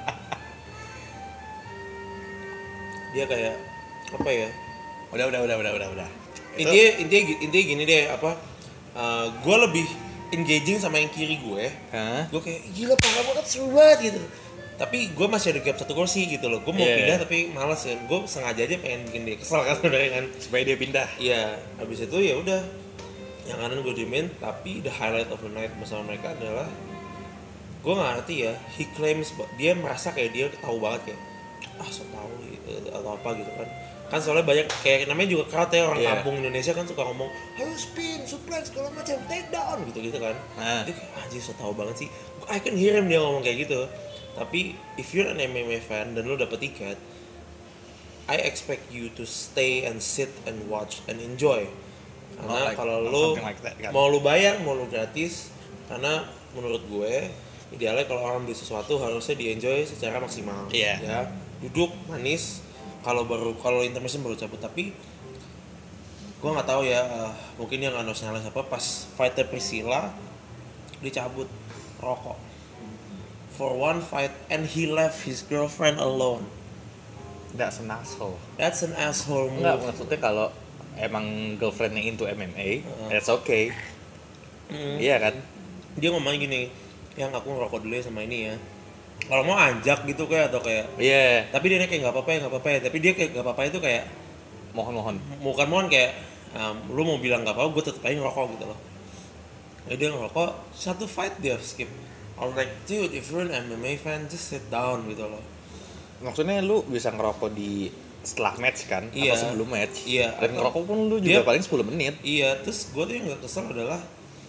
Dia kayak apa ya? Udah udah udah udah udah udah. Intinya intinya intinya gini deh apa? Uh, gue lebih engaging sama yang kiri gue. Huh? Gue kayak gila parah banget, seru banget gitu. Tapi gue masih ada gap satu kursi gitu loh. Gue mau yeah. pindah tapi malas kan. Gue sengaja aja pengen bikin dia kesel kan udah kan. Supaya dia pindah. Iya. Habis itu ya udah. Yang kanan gue diemin. Tapi the highlight of the night bersama mereka adalah gue nggak ngerti ya. He claims dia merasa kayak dia tahu banget kayak ah so tahu gitu, atau apa gitu kan. Kan soalnya banyak kayak namanya juga crowd ya orang yeah. kampung Indonesia kan suka ngomong ayo spin, suplex, segala macam, take down gitu-gitu kan. Nah. Dia kayak anjir so tahu banget sih. I can hear him dia ngomong kayak gitu. Tapi if you're an M M A fan dan lo dapet tiket, I expect you to stay and sit and watch and enjoy. Karena oh, like, kalau lo like that, kan? Mau lo bayar, mau lo gratis, karena menurut gue idealnya kalau orang beli sesuatu harusnya di-enjoy secara maksimal. Yeah. Ya, duduk manis. Kalau baru kalau intermission baru cabut. Tapi gue nggak tahu ya, uh, mungkin dia nggak nasionalis apa pas fighter Priscilla dicabut rokok. For one fight and he left his girlfriend alone. That's an asshole. That's an asshole move. Enggak, maksudnya kalau emang girlfriendnya into M M A, uh. that's okay. Mm. Iya kan? Dia ngomong gini, yang aku ngerokok dulu ya sama ini ya. Kalau mau anjak gitu kayak atau kayak. Iya. Yeah. Tapi dia kayak nggak apa-apa ya nggak apa-apa ya. Tapi dia kayak nggak apa-apa itu kayak mohon-mohon. Bukan mohon kayak, um, lu mau bilang nggak apa-apa, gue tetep aja ngerokok gitu loh. Jadi dia ngerokok, satu fight dia skip. I was like, dude, if you're an M M A fan, just sit down gitu loh. maksudnya lu bisa ngerokok di setelah match kan Iya. atau sebelum match. Iya. Dan ngerokok pun lu Dia- juga paling sepuluh menit. Iya, terus gue tuh yang gak kesel adalah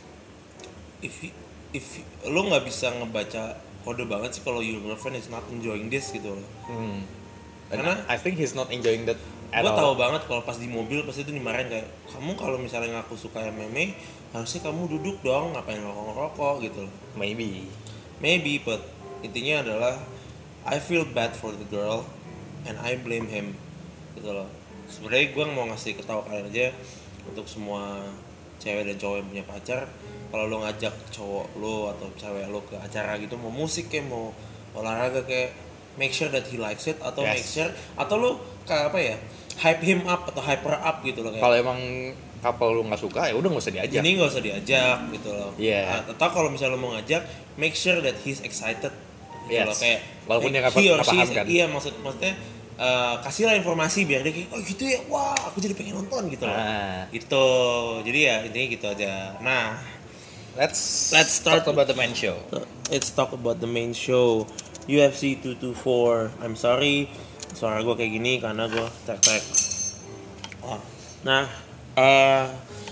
if you- if you- lo nggak bisa ngebaca kode banget sih kalau your girlfriend is not enjoying this gitu loh. Hmm. Dan Karena- I think he's not enjoying that at Gue all. tahu banget kalau pas di mobil pasti itu dimarahin kayak kamu kalau misalnya ngaku suka M M A harusnya kamu duduk dong, ngapain ngerokok-ngerokok gitu loh. Maybe. Maybe, but intinya adalah I feel bad for the girl and I blame him gitu loh. Sebenarnya gue mau ngasih ketawa kalian aja untuk semua cewek dan cowok yang punya pacar, kalau lo ngajak cowok lo atau cewek lo ke acara gitu, mau musik kayak mau olahraga kayak, make sure that he likes it atau Yes. make sure atau lo kayak apa ya, hype him up atau hyper up gitu loh kayak. Kalau emang couple lu nggak suka ya udah nggak usah diajak. Ini nggak usah diajak gitu loh. Iya. Nah, atau kalau misalnya lo mau ngajak, make sure that he's excited gitu Yes. loh kayak. Walaupun dia nggak he or nggak she paham is- kan. Iya maksud maksudnya eh, kasihlah informasi biar dia kayak oh gitu ya, wah aku jadi pengen nonton gitu loh. Nah. Gitu. Jadi ya intinya gitu aja. Nah, Let's Let's start- talk about the main show. let's talk about the main show. U F C two twenty-four. I'm sorry, suara gue kayak gini karena gue tek-tek. Oh. Nah, eh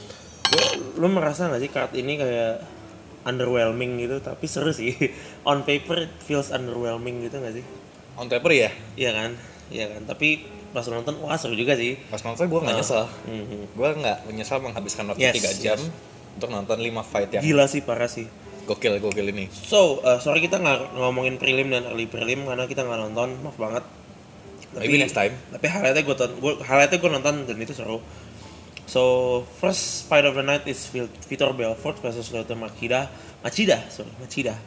lu, lu merasa nggak sih card ini kayak underwhelming gitu? Tapi seru sih. On paper it feels underwhelming gitu nggak sih? On paper ya. Iya kan, iya kan. Tapi pas nonton wah seru juga sih. Pas nonton gue nggak Ah. nyesel. Mhm. Gue nggak menyesal menghabiskan waktu Yes, tiga jam yes. untuk nonton lima fight yang Gila sih, parah sih. gokil gokil ini. So, uh, sorry kita nggak ngomongin prelim dan early prelim karena kita nggak nonton, maaf banget. Maybe next time. Tapi highlightnya gue tonton, gue highlightnya gue nonton dan itu seru. So, first fight of the night is Vil- Vitor Belfort versus Lyoto Machida. Machida, sorry, Machida.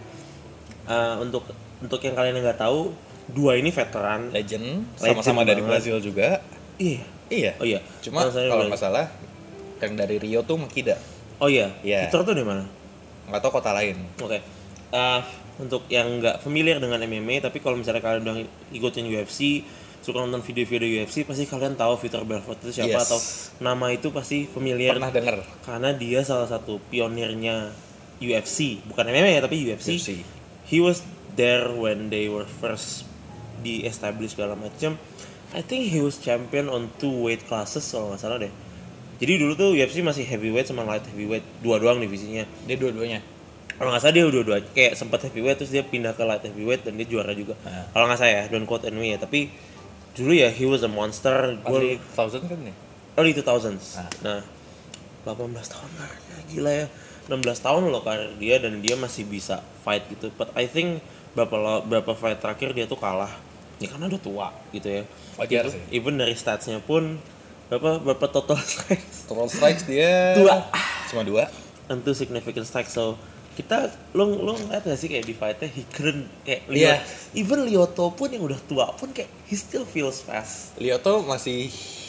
Uh, untuk untuk yang kalian yang nggak tahu, dua ini veteran. Legend, Legend sama-sama dari banget. Brazil juga. Iya. Iya. Oh iya. Cuma Oh, saya kalau udah- nggak salah yang dari Rio tuh Makida. Oh iya. Iya. Vitor tuh di mana? Nggak tahu kota lain. Oke. Uh, untuk yang nggak familiar dengan M M A, tapi kalau misalnya kalian udah ikutin U F C, suka nonton video-video U F C, pasti kalian tahu Vitor Belfort itu siapa Yes. atau nama itu pasti familiar Pernah denger. karena dia salah satu pionirnya U F C, bukan M M A ya tapi U F C. U F C. He was there when they were first di establish segala macam. I think he was champion on two weight classes kalau nggak salah deh. Jadi dulu tuh U F C masih heavyweight sama light heavyweight, dua doang divisinya. Dia dua-duanya. Kalau nggak salah dia dua-dua kayak sempat heavyweight terus dia pindah ke light heavyweight dan dia juara juga. Nah. Kalau nggak salah ya, don't quote on me ya, tapi dulu ya he was a monster. Early Gue thousand kan nih? early two thousands. Nah. Nah, delapan belas tahun karirnya gila ya. enam belas tahun loh karir dia dan dia masih bisa fight gitu. But I think berapa lo- berapa fight terakhir dia tuh kalah. Ya karena udah tua gitu ya. Wajar Even- sih. Even dari statsnya pun berapa berapa total strikes? Total strikes dia Dua. Cuma dua. Tentu significant strike. So kita lo lo ngeliat gak sih kayak di fightnya he couldn't kayak Iya. Lyoto, even Lyoto pun yang udah tua pun kayak he still feels fast. Lyoto masih,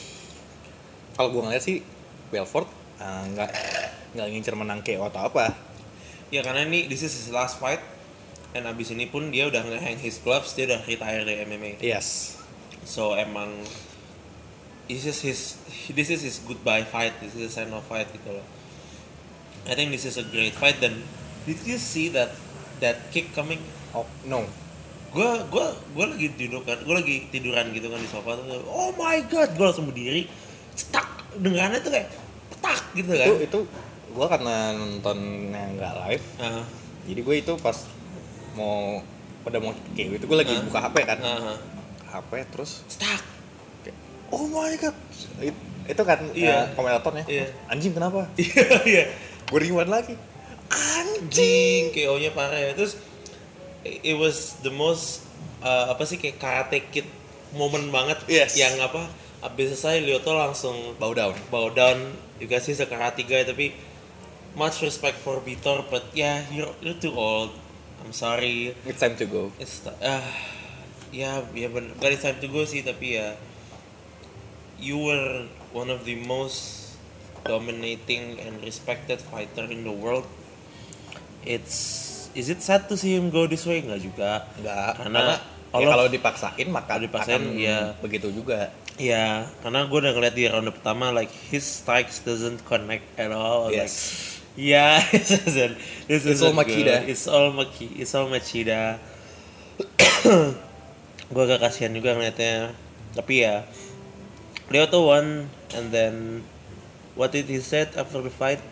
kalau gue ngeliat sih Belfort uh, nggak nggak ngincer menang K O atau apa. Ya karena ini this is his last fight dan abis ini pun dia udah nge-hang his gloves, dia udah retire dari M M A. Yes. So emang this is his this is his goodbye fight, this is a sign of fight gitu loh. I think this is a great fight dan did you see that that kick coming? Oh no. Gue gue gue lagi tidur kan, gue lagi tiduran gitu kan di sofa tuh. Oh my god, gue langsung berdiri, cetak, dengarannya tuh kayak petak gitu kan. Itu itu gue karena nontonnya nggak live, Ah, jadi gue itu pas mau pada mau kayak gitu gue lagi Ah. buka H P kan, ah, ah. H P terus cetak. kayak, oh my god. It- itu kan Iya. uh, komentatornya, Iya. anjing kenapa? Iya iya. Gue rewind lagi. Anjing, K O-nya parah ya. Terus it was the most uh, apa sih kayak Karate Kid moment banget. Yes. Yang apa? Abis selesai Lyoto langsung Bow down. bow down. You guys he's a karate guy tapi much respect for Vitor, but yeah, you're you're too old. I'm sorry. It's time to go. It's ah ya ya bener. Bukan it's time to go sih tapi ya you were one of the most dominating and respected fighter in the world. It's is it sad to see him go this way? Enggak juga. Enggak, Karena karena all ya of- kalau dipaksain maka Kalau dipaksain, akan ya. begitu juga. Ya, karena gue udah ngeliat di ronde pertama like his strikes doesn't connect at all. Like, Yes. yeah, this isn't. This It's isn't all Machida. good. It's all Maki. It's all Machida. gue agak kasihan juga ngeliatnya. Tapi ya Lyoto won, and then what did he said after the fight?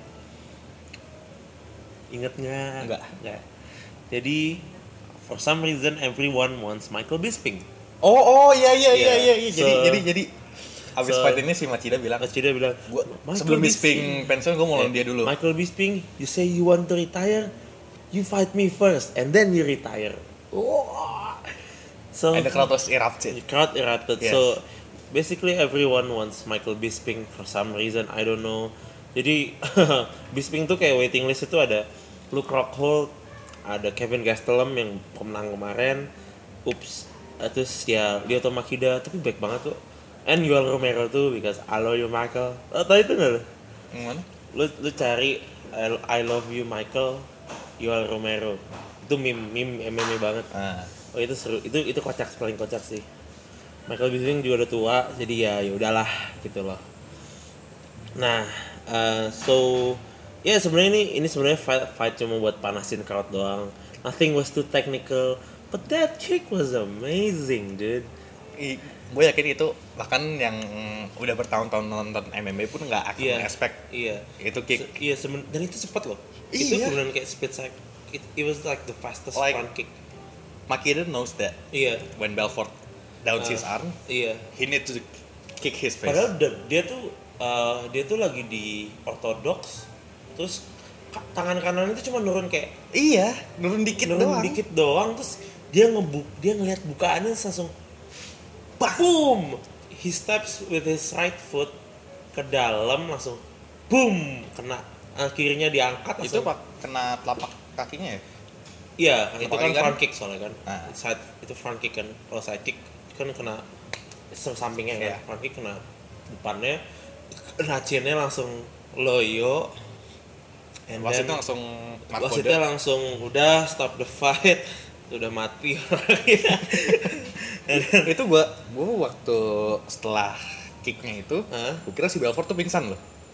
Ingat nggak? Enggak. Nggak. Jadi for some reason everyone wants Michael Bisping. Oh oh iya iya iya Yeah. iya. iya. Jadi So- jadi jadi abis so- fight ini si Machida bilang, Machida bilang, gua Michael sebelum Bisping pensiun gue mau lawan dia dulu. Michael Bisping, you say you want to retire, you fight me first, and then you retire. Wah. So And the crowd was erupted. the crowd erupted. Yes. So basically everyone wants Michael Bisping for some reason, I don't know. Jadi Bisping tuh kayak waiting list itu ada Luke Rockhold, ada Kevin Gastelum yang pemenang kemarin, ups, terus ya Lyoto Machida, tapi baik banget tuh. And Yoel Romero tuh, because I love you Michael. Oh, tau itu nggak lo? Yang mana? Lu lu cari I, I love you Michael, Yoel Romero. Itu meme meme M M A banget. Ah. Oh itu seru, itu itu kocak, paling kocak sih. Michael Bisping juga udah tua, jadi ya ya udahlah gitu loh. Nah, uh, so ya yeah, sebenarnya ini ini sebenarnya fight, fight cuma buat panasin crowd doang. Nothing was too technical, but that kick was amazing, dude. Gue yakin itu bahkan yang udah bertahun-tahun nonton M M A pun nggak akan Iya. expect Iya. itu kick. Se- iya seben- dan itu cepat loh. Itu Iya. beneran kayak speed cycle. It, it was like the fastest Like- front kick. Machida knows that Iya. when Belfort downs Uh, his arm, Iya. he need to kick his face. Padahal da- dia tuh uh, dia tuh lagi di orthodox, terus ka- tangan kanan itu cuma nurun kayak Iya, nurun dikit nurun doang. dikit doang, terus dia ngebuk dia ngeliat bukaannya terus langsung boom. He steps with his right foot ke dalam langsung boom kena uh, kirinya diangkat Itu langsung. pak kena telapak kakinya ya? Iya, itu Telapak kan kaki kan? front kick soalnya kan. Ah. Side itu front kick kan. Kalau side kick kan kena sampingnya kan. Iya. Front kick kena depannya. Kena chinnya langsung loyo. And Wasitnya then langsung mark wasitnya kode. langsung udah stop the fight. Udah mati orangnya. And then- Itu gua gua waktu setelah kicknya itu, Hah? gua kira si Belfort tuh pingsan loh.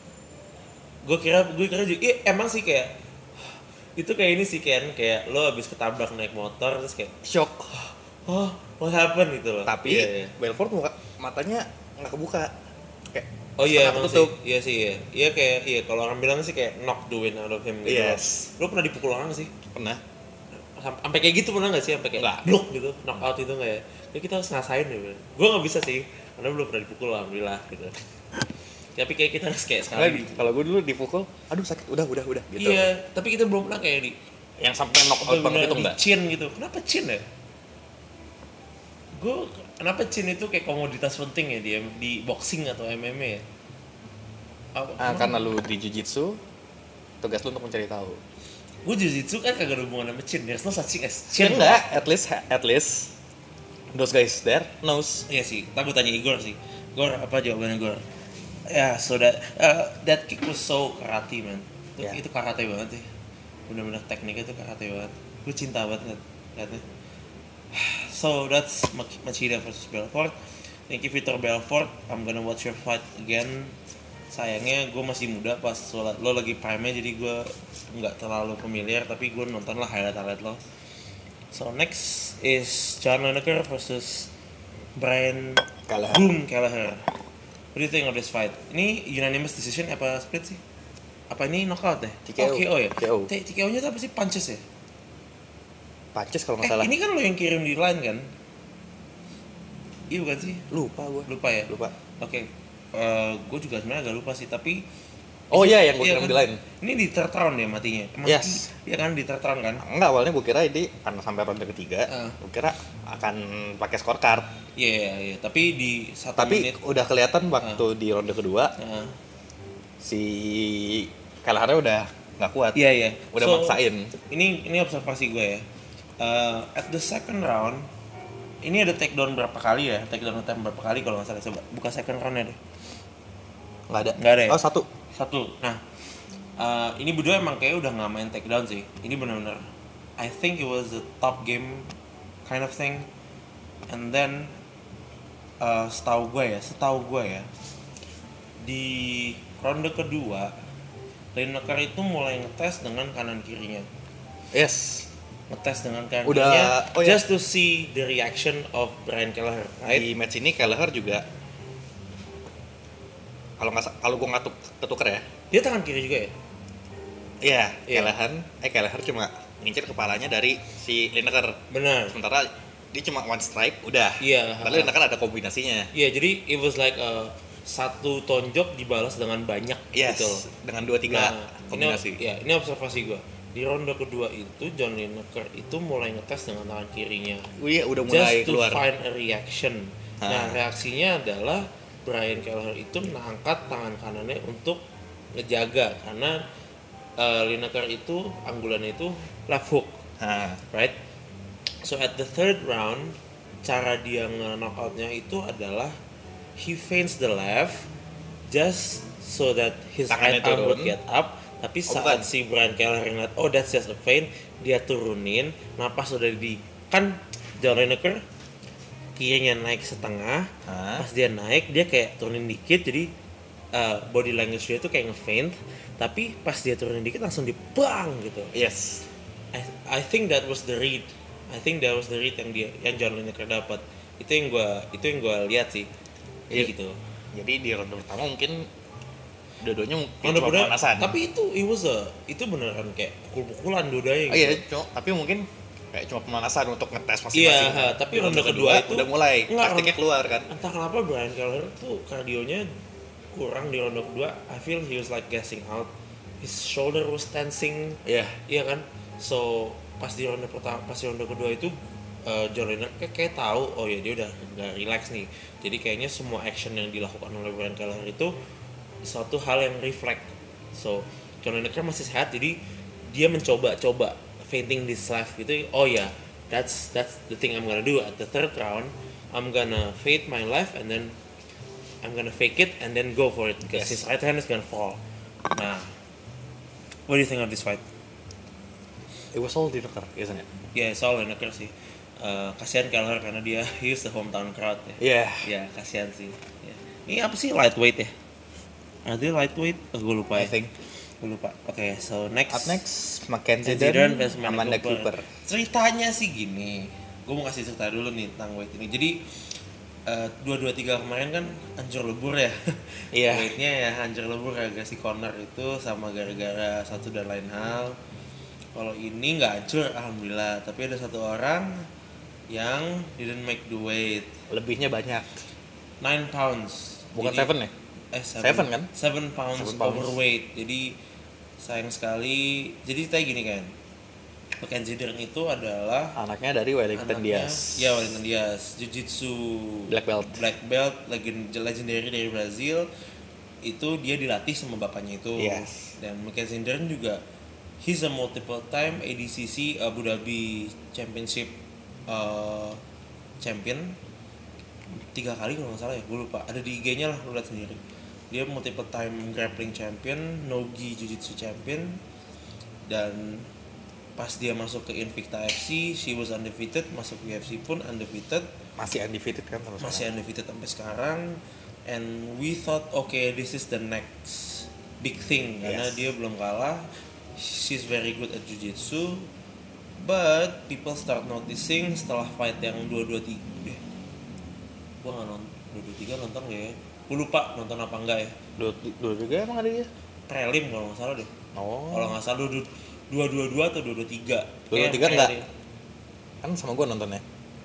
gue kira gue kira juga iya, emang sih kayak itu kayak ini sih kan kayak lo abis ketabrak naik motor terus kayak Shock. oh what happened gitu loh. Tapi Iya, iya. Belfort muka, matanya nggak kebuka. Kayak Oh iya setengah emang tertutup. sih, iya sih iya. Iya kayak iya kalau orang bilang sih kayak knock the wind out of him gitu. Yes. Lo pernah dipukul orang gak sih? Pernah. Sam- Sampai kayak gitu pernah gak sih? Sampai kayak Nggak. blok gitu, knock out itu nggak ya? Ya kita harus ngasain ya. Gue nggak bisa sih, karena belum pernah dipukul alhamdulillah gitu. Tapi kayak kita harus kayak Karena sekali. di- kalau gue dulu dipukul, aduh sakit, udah udah udah gitu. Iya, tapi kita belum pernah kayak di Yang sampai knock out banget itu di enggak. chin gitu. Kenapa chin ya? Gue kenapa chin itu kayak komoditas penting ya di di boxing atau M M A ya? Apa- Ah, karena lu di jiu-jitsu, tugas lu untuk mencari tahu. Gue jujitsu kan kagak ada hubungan sama chin. There's no such thing as Ya chin. enggak, at least at least those guys there knows. Iya sih, ntar gue tanya Igor sih. Igor apa jawabannya Igor? Ya, so that uh, that kick was so karate man. Itu, Ya. itu karate banget sih. Bener-bener tekniknya itu karate banget. Gue cinta banget liat- liatnya. So that's Mach- Machida versus Belfort. Thank you Vitor Belfort. I'm gonna watch your fight again. Sayangnya gue masih muda pas lo, lo lagi prime jadi gue nggak terlalu familiar tapi gue nonton lah highlight-highlight lo. So next is John Lineker versus Brian Kelleher. Boom Kelleher. What do you think of this fight? Ini unanimous decision apa split sih? Apa ini knockout deh? T K O. Oh, K O ya? T K O. T K O-nya tuh apa sih? Punches ya? Punches kalau Eh, nggak salah. ini kan lo yang kirim di line kan? Iya bukan sih? Lupa gue. Lupa ya? Lupa. Oke. gue juga sebenarnya agak lupa sih, tapi Oh iya, yang gua kirim kan? di line. Ini di third round ya matinya? Mati, Yes. Iya kan di third round kan? Enggak, awalnya gue kira ini karena sampai ronde ketiga, Ah. gue kira akan pakai scorecard. Iya, iya, iya. Tapi di satu Tapi menit udah kelihatan waktu di ronde kedua Heeh. si Kelleher udah nggak kuat. Iya, iya. Udah So, maksain. Ini ini observasi gue ya. Uh, at the second round, ini ada takedown berapa kali ya? Takedown attempt berapa kali kalau nggak salah, coba buka second roundnya deh. Nggak ada. Nggak ada ya? Oh, satu. Satu. Nah, uh, ini berdua emang kayak udah nggak main takedown sih. Ini benar-benar, I think it was a top game kind of thing. And then, uh, setahu gue ya, setahu gue ya, di ronde kedua, Lineker itu mulai ngetes dengan kanan kirinya. Yes. ngetes dengan kakinya Udah- oh ya. just to see the reaction of Brian Kelleher, right? Di match ini Kelleher juga kalau nggak sa- kalau gue nggak tuk- ketuker ya. Dia tangan kiri juga ya? Iya, Iya. Kelleher eh Kelleher cuma ngincer kepalanya dari si Lineker. Benar. Sementara dia cuma one strike udah. Iya. Lalu Lineker ada kombinasinya. Iya, jadi it was like a, satu tonjok dibalas dengan banyak Yes, gitu. dengan dua tiga Nah, kombinasi. Ini, ya, ini observasi gue. Di ronde kedua itu John Lineker itu mulai ngetes dengan tangan kirinya. Oh iya, udah mulai Just to keluar. find a reaction. Ah. Nah, reaksinya adalah Brian Kelleher itu mengangkat tangan kanannya untuk ngejaga karena uh, Lineker itu anggulannya itu left hook, Nah, right? So at the third round, cara dia nge-knockoutnya itu adalah he feints the left just so that his Tangannya right arm turun. would get up. Tapi Oh, saat bukan. si Brian Kelleher ngeliat, oh that's just a feint, dia turunin, napas udah di, kan John Lineker kirinya naik setengah, Hah? pas dia naik dia kayak turunin dikit, jadi uh, body language dia tuh kayak nge-feint, tapi pas dia turunin dikit langsung dibang gitu. yes. I, I think that was the read. I think that was the read yang dia yang John Lineker dapat. Itu yang gua itu yang gua lihat sih. Jadi Iya. gitu. Jadi di ronde pertama mungkin dua-duanya mungkin Ronde cuma kedua, pemanasan. tapi itu it was a, itu beneran kayak pukul-pukulan dua-duanya Oh gitu. iya, cuma, tapi mungkin kayak cuma pemanasan untuk ngetes Iya, masing-masing. ha, tapi Di ronde kedua itu udah mulai enggak, taktiknya ronde- keluar kan. Entah kenapa Brian Kelleher tuh kardionya kurang di ronde kedua. I feel he was like gassing out. His shoulder was tensing. Iya. Iya kan? So pas di ronde pertama, pas di ronde kedua itu uh, John Lineker kayak, kayak tahu, oh ya dia udah nggak relax nih. Jadi kayaknya semua action yang dilakukan oleh Brian Kelleher itu suatu hal yang reflect. So John Lineker masih sehat, jadi dia mencoba-coba feinting this left gitu. Oh ya, yeah, that's that's the thing I'm gonna do at the third round. I'm gonna feint my left and then I'm gonna fake it and then go for it because Yes. his right hand is gonna fall. Nah, what do you think of this fight? It was all Lineker, isn't it? Ya, soal Lineker sih. Uh, kasihan Kelleher karena dia he is the hometown crowd ya. Iya. Ya, kasihan sih. Ya. Ini apa sih lightweight ya? Ada lightweight? Oh, gue lupa I ya. think. Gue lupa. Oke, okay, so next. Up next, Mackenzie Mackenzie Dern Dern, versus Amanda Amanda Cooper. Cooper. Ceritanya sih gini. Gue mau kasih cerita dulu nih tentang weight ini. Jadi uh, dua dua tiga kemarin kan hancur lebur ya. Iya. Weightnya ya hancur lebur gara-gara si Conor itu sama gara-gara satu dan lain hal. Kalau ini nggak hancur, alhamdulillah. Tapi ada satu orang yang didn't make the weight. Lebihnya banyak. nine pounds. Bukan Jadi- seven ya? Eh, seven, Seven kan? seven pounds, Seven pounds. overweight. Jadi sayang sekali. Jadi kayak gini kan. Mackenzie Dern itu adalah Anaknya dari Wellington anaknya- Diaz. Ya, Wellington Diaz. Jiu-jitsu Black belt. Black belt, legend legendary dari Brazil. Itu dia dilatih sama bapaknya itu. Yes. Dan Mackenzie Dern juga he's a multiple time A D C C Abu Dhabi Championship uh, champion. Tiga kali kalau nggak salah ya, gue lupa. Ada di I G-nya lah, lu lihat sendiri. Dia multiple time grappling champion, nogi jiu-jitsu champion, dan pas dia masuk ke Invicta F C, she was undefeated. Masuk ke U F C pun undefeated, Masih undefeated kan terus. masih undefeated sampai sekarang. And we thought, okay, this is the next big thing karena Yes. dia belum kalah. She's very good at jiu-jitsu, but people start noticing setelah fight yang dua dua tiga. Eh, gua nggak nonton dua dua tiga nonton nggak ya? Gua lupa nonton apa enggak ya. Dua, dua juga emang ada dia? Prelim kalau nggak salah deh. Oh. Kalau nggak salah dua dua dua dua atau dua dua tiga. dua dua tiga enggak? Kan sama gua nontonnya.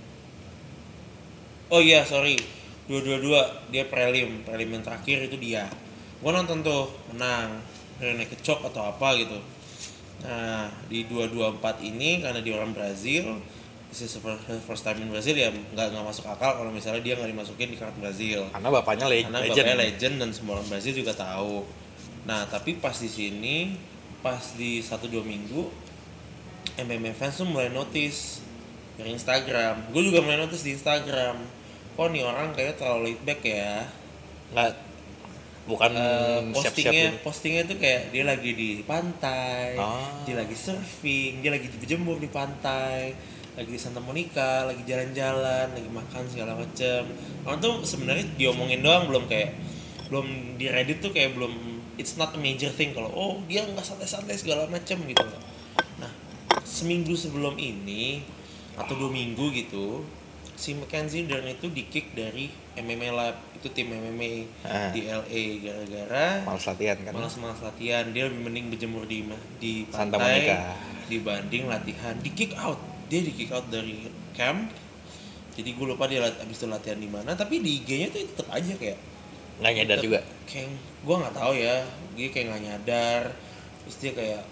Oh iya, sorry. dua dua dua dia prelim, prelim yang terakhir itu dia. Gua nonton tuh, menang. Rene kecok atau apa gitu. Nah, di dua dua empat ini karena dia orang Brazil, this is the first, first time in Brazil ya nggak nggak masuk akal kalau misalnya dia nggak dimasukin di card Brazil. Karena bapaknya le- Karena legend. bapaknya legend dan semua orang Brazil juga tahu. Nah, tapi pas di sini, pas di satu dua minggu, M M A fans tuh mulai notice dari Instagram. Gue juga mulai notice di Instagram. Kok nih orang kayak terlalu laid back ya. Nggak, bukan Eh, siap-siap postingnya ini. postingnya tuh kayak dia lagi di pantai, Ah. dia lagi surfing, dia lagi berjemur di pantai, lagi di Santa Monica, lagi jalan-jalan, lagi makan segala macem. Orang tuh sebenarnya diomongin doang, belum kayak belum di Reddit tuh kayak belum, it's not a major thing kalau oh dia nggak santai-santai segala macem gitu. Nah, seminggu sebelum ini atau dua minggu gitu, si Mackenzie Dern itu di-kick dari M M A Lab, itu tim M M A Ah. di L A gara-gara Malas latihan kan. malas-malas latihan. Dia lebih mending berjemur di di Santa pantai Monica. dibanding latihan. Di-kick out, dia di-kick out dari camp. Jadi gue lupa dia lat- abis itu latihan di mana, tapi di I G-nya tuh tetap aja kayak Nggak nyadar tetep juga. Kayak gue nggak tahu ya, dia kayak nggak nyadar. Terus dia kayak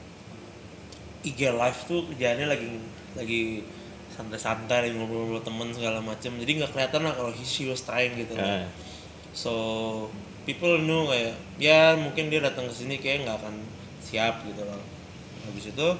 I G live tuh kerjaannya lagi lagi santai-santai, lagi ngobrol-ngobrol temen segala macem. Jadi nggak kelihatan lah kalau he, she was trying gitu. Ah. So people know kayak ya mungkin dia datang ke sini kayak nggak akan siap gitu loh. Habis itu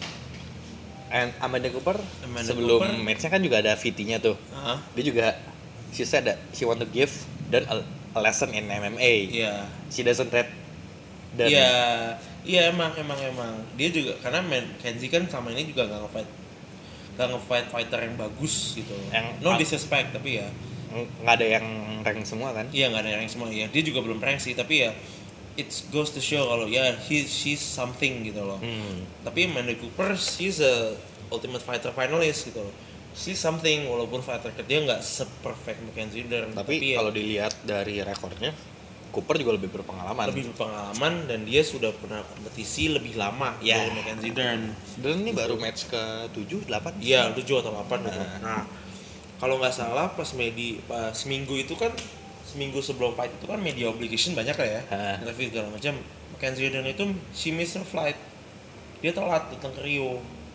And Amanda Cooper Amanda sebelum Cooper. match-nya kan juga ada V T-nya tuh. ah Dia juga she said that she want to give dan a, a lesson in M M A. iya She doesn't trade dan iya iya emang emang emang dia juga karena Mackenzie kan sama ini juga nggak nge-fight nggak nge-fight fighter yang bagus gitu. Yang- No disrespect tapi ya nggak ada yang rank semua kan. iya nggak ada yang semua ya. Dia juga belum rank sih tapi ya it goes to show kalau ya he she's something gitu loh. Hmm. Tapi Amanda Cooper she's a Ultimate Fighter finalist gitu loh. She's something walaupun fighter dia nggak se-perfect Mackenzie Dern. Tapi ya, kalau dilihat dari rekornya, Cooper juga lebih berpengalaman. lebih berpengalaman dan dia sudah pernah kompetisi lebih lama Ya. dari Mackenzie Dern. Dan ini baru match ke tujuh, delapan. Iya, tujuh atau delapan gitu. Nah. Nah, kalau nggak salah pas medi pas seminggu itu kan seminggu sebelum fight itu kan media obligation banyak lah ya. Hah. Interview segala macam. Mackenzie Dern itu she missed her flight. Dia telat datang ke Rio.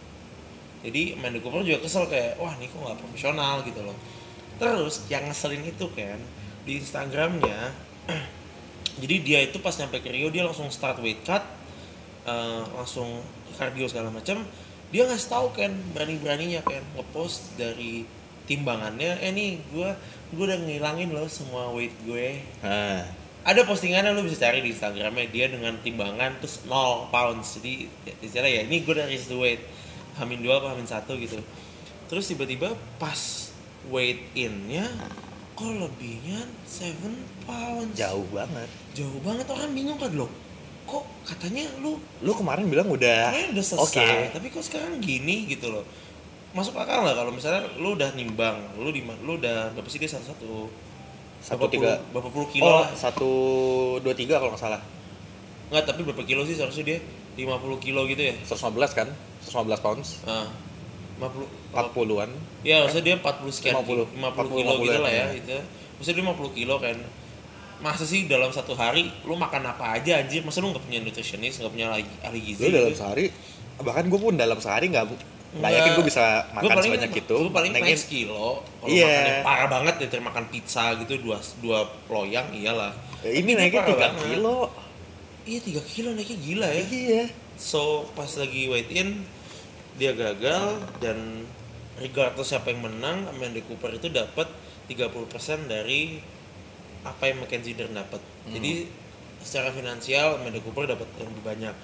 Jadi Amanda Cooper juga kesel kayak, wah ini kok nggak profesional gitu loh. Terus yang ngeselin itu kan di Instagramnya, jadi dia itu pas nyampe ke Rio dia langsung start weight cut, eh, langsung cardio segala macam. Dia ngasih tahu kan berani-beraninya kan ngepost dari timbangannya, eh nih gue gue udah ngilangin loh semua weight gue. Nah, Ada postingannya lu bisa cari di Instagramnya dia dengan timbangan terus nol pounds. Jadi ya, istilah ya ini gue udah raise the weight hamin dua apa hamin satu gitu. Terus tiba-tiba pas weight in-nya kok lebihnya tujuh pounds. jauh banget. Jauh banget, orang bingung kan lo. Kok katanya lu Lu kemarin bilang udah kayaknya udah selesai, Oke. tapi kok sekarang gini gitu loh. Masuk akal nggak kalau misalnya lu udah nimbang, lu di lu udah berapa sih dia satu satu Satu tiga. berapa puluh kilo Oh, lah. satu dua tiga kalau nggak salah. Nggak, tapi berapa kilo sih seharusnya dia? lima puluh kilo gitu ya? seratus lima belas kan? seratus lima belas pounds. Ah, lima puluh empat puluhan. ya maksudnya dia empat puluh sekian lima puluh. lima puluh empat puluh, kilo lima puluh gitu lah ya ya. itu. Maksudnya dia lima puluh kilo kan. Masa sih dalam satu hari lu makan apa aja anjir? Masa lu nggak punya nutritionist, nggak punya ahli ahli gizi? Lu dalam gitu? sehari, bahkan gue pun dalam sehari nggak nggak Nggak. yakin gue bisa Gua makan paling- sebanyak itu. gua paling Naikin- max kilo. Kalau Iya. makannya parah banget ya makan pizza gitu dua dua loyang iyalah. Ya, ini Tapi dia naiknya parah tiga banget. kilo. Iya tiga kilo naiknya gila ya. Iya. So pas lagi weight in dia gagal dan regardless siapa yang menang, Amanda Cooper itu dapat tiga puluh persen dari apa yang Mackenzie Dern dapat. Hmm. Jadi secara finansial Amanda Cooper dapat yang lebih banyak.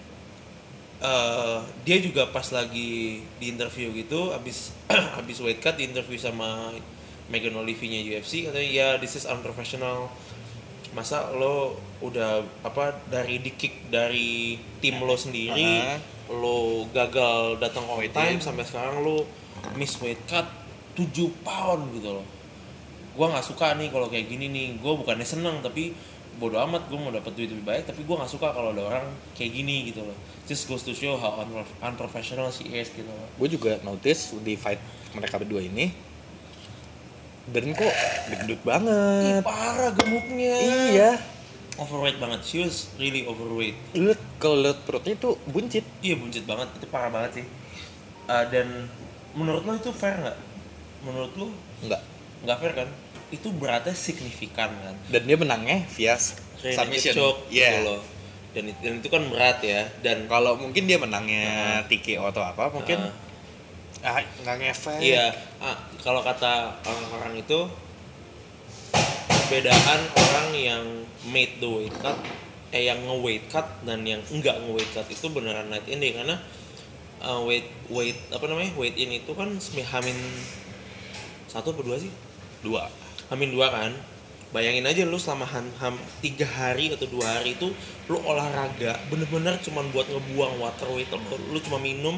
Eh, dia juga pas lagi di interview gitu abis abis weight cut di interview sama Megan Olivier-nya U F C katanya ya this is unprofessional. Masa lo udah apa dari di kick dari tim lo sendiri, Ah. lo gagal datang on Weight time in. sampai sekarang lo miss weight cut tujuh pound gitu loh. Gua nggak suka nih kalau kayak gini nih. Gua bukannya seneng tapi bodo amat, gue mau dapat duit lebih baik, tapi gue nggak suka kalau ada orang kayak gini gitu loh. Just goes to show how unprof- unprofessional she is gitu loh. Gue juga notice di fight mereka berdua ini, Dern kok gendut Ih, banget. parah gemuknya. Iya. Overweight banget. She was really overweight. Lu liat- kalau liat perutnya itu buncit. Iya buncit banget, itu parah banget sih. Uh, dan menurut lo itu fair nggak? Menurut lo Enggak. nggak fair kan? Itu beratnya signifikan kan? Dan dia menangnya via Rear submission. choke Iya. gitu loh. Dan, it- dan itu kan berat ya. Dan Kalau mungkin dia menangnya T K O atau apa, mungkin Ah. ah nggak ngefek. iya, ah, kalau kata orang-orang itu perbedaan orang yang made the weight cut, eh yang nge-weight cut dan yang enggak nge-weight cut itu beneran night in deh karena uh, weight weight apa namanya weight in itu kan semi- hamin satu atau dua sih? Dua. Hamin dua kan. Bayangin aja lu selama ham, ham tiga hari atau dua hari itu lu olahraga bener-bener cuman buat ngebuang water weight lu, lu cuma minum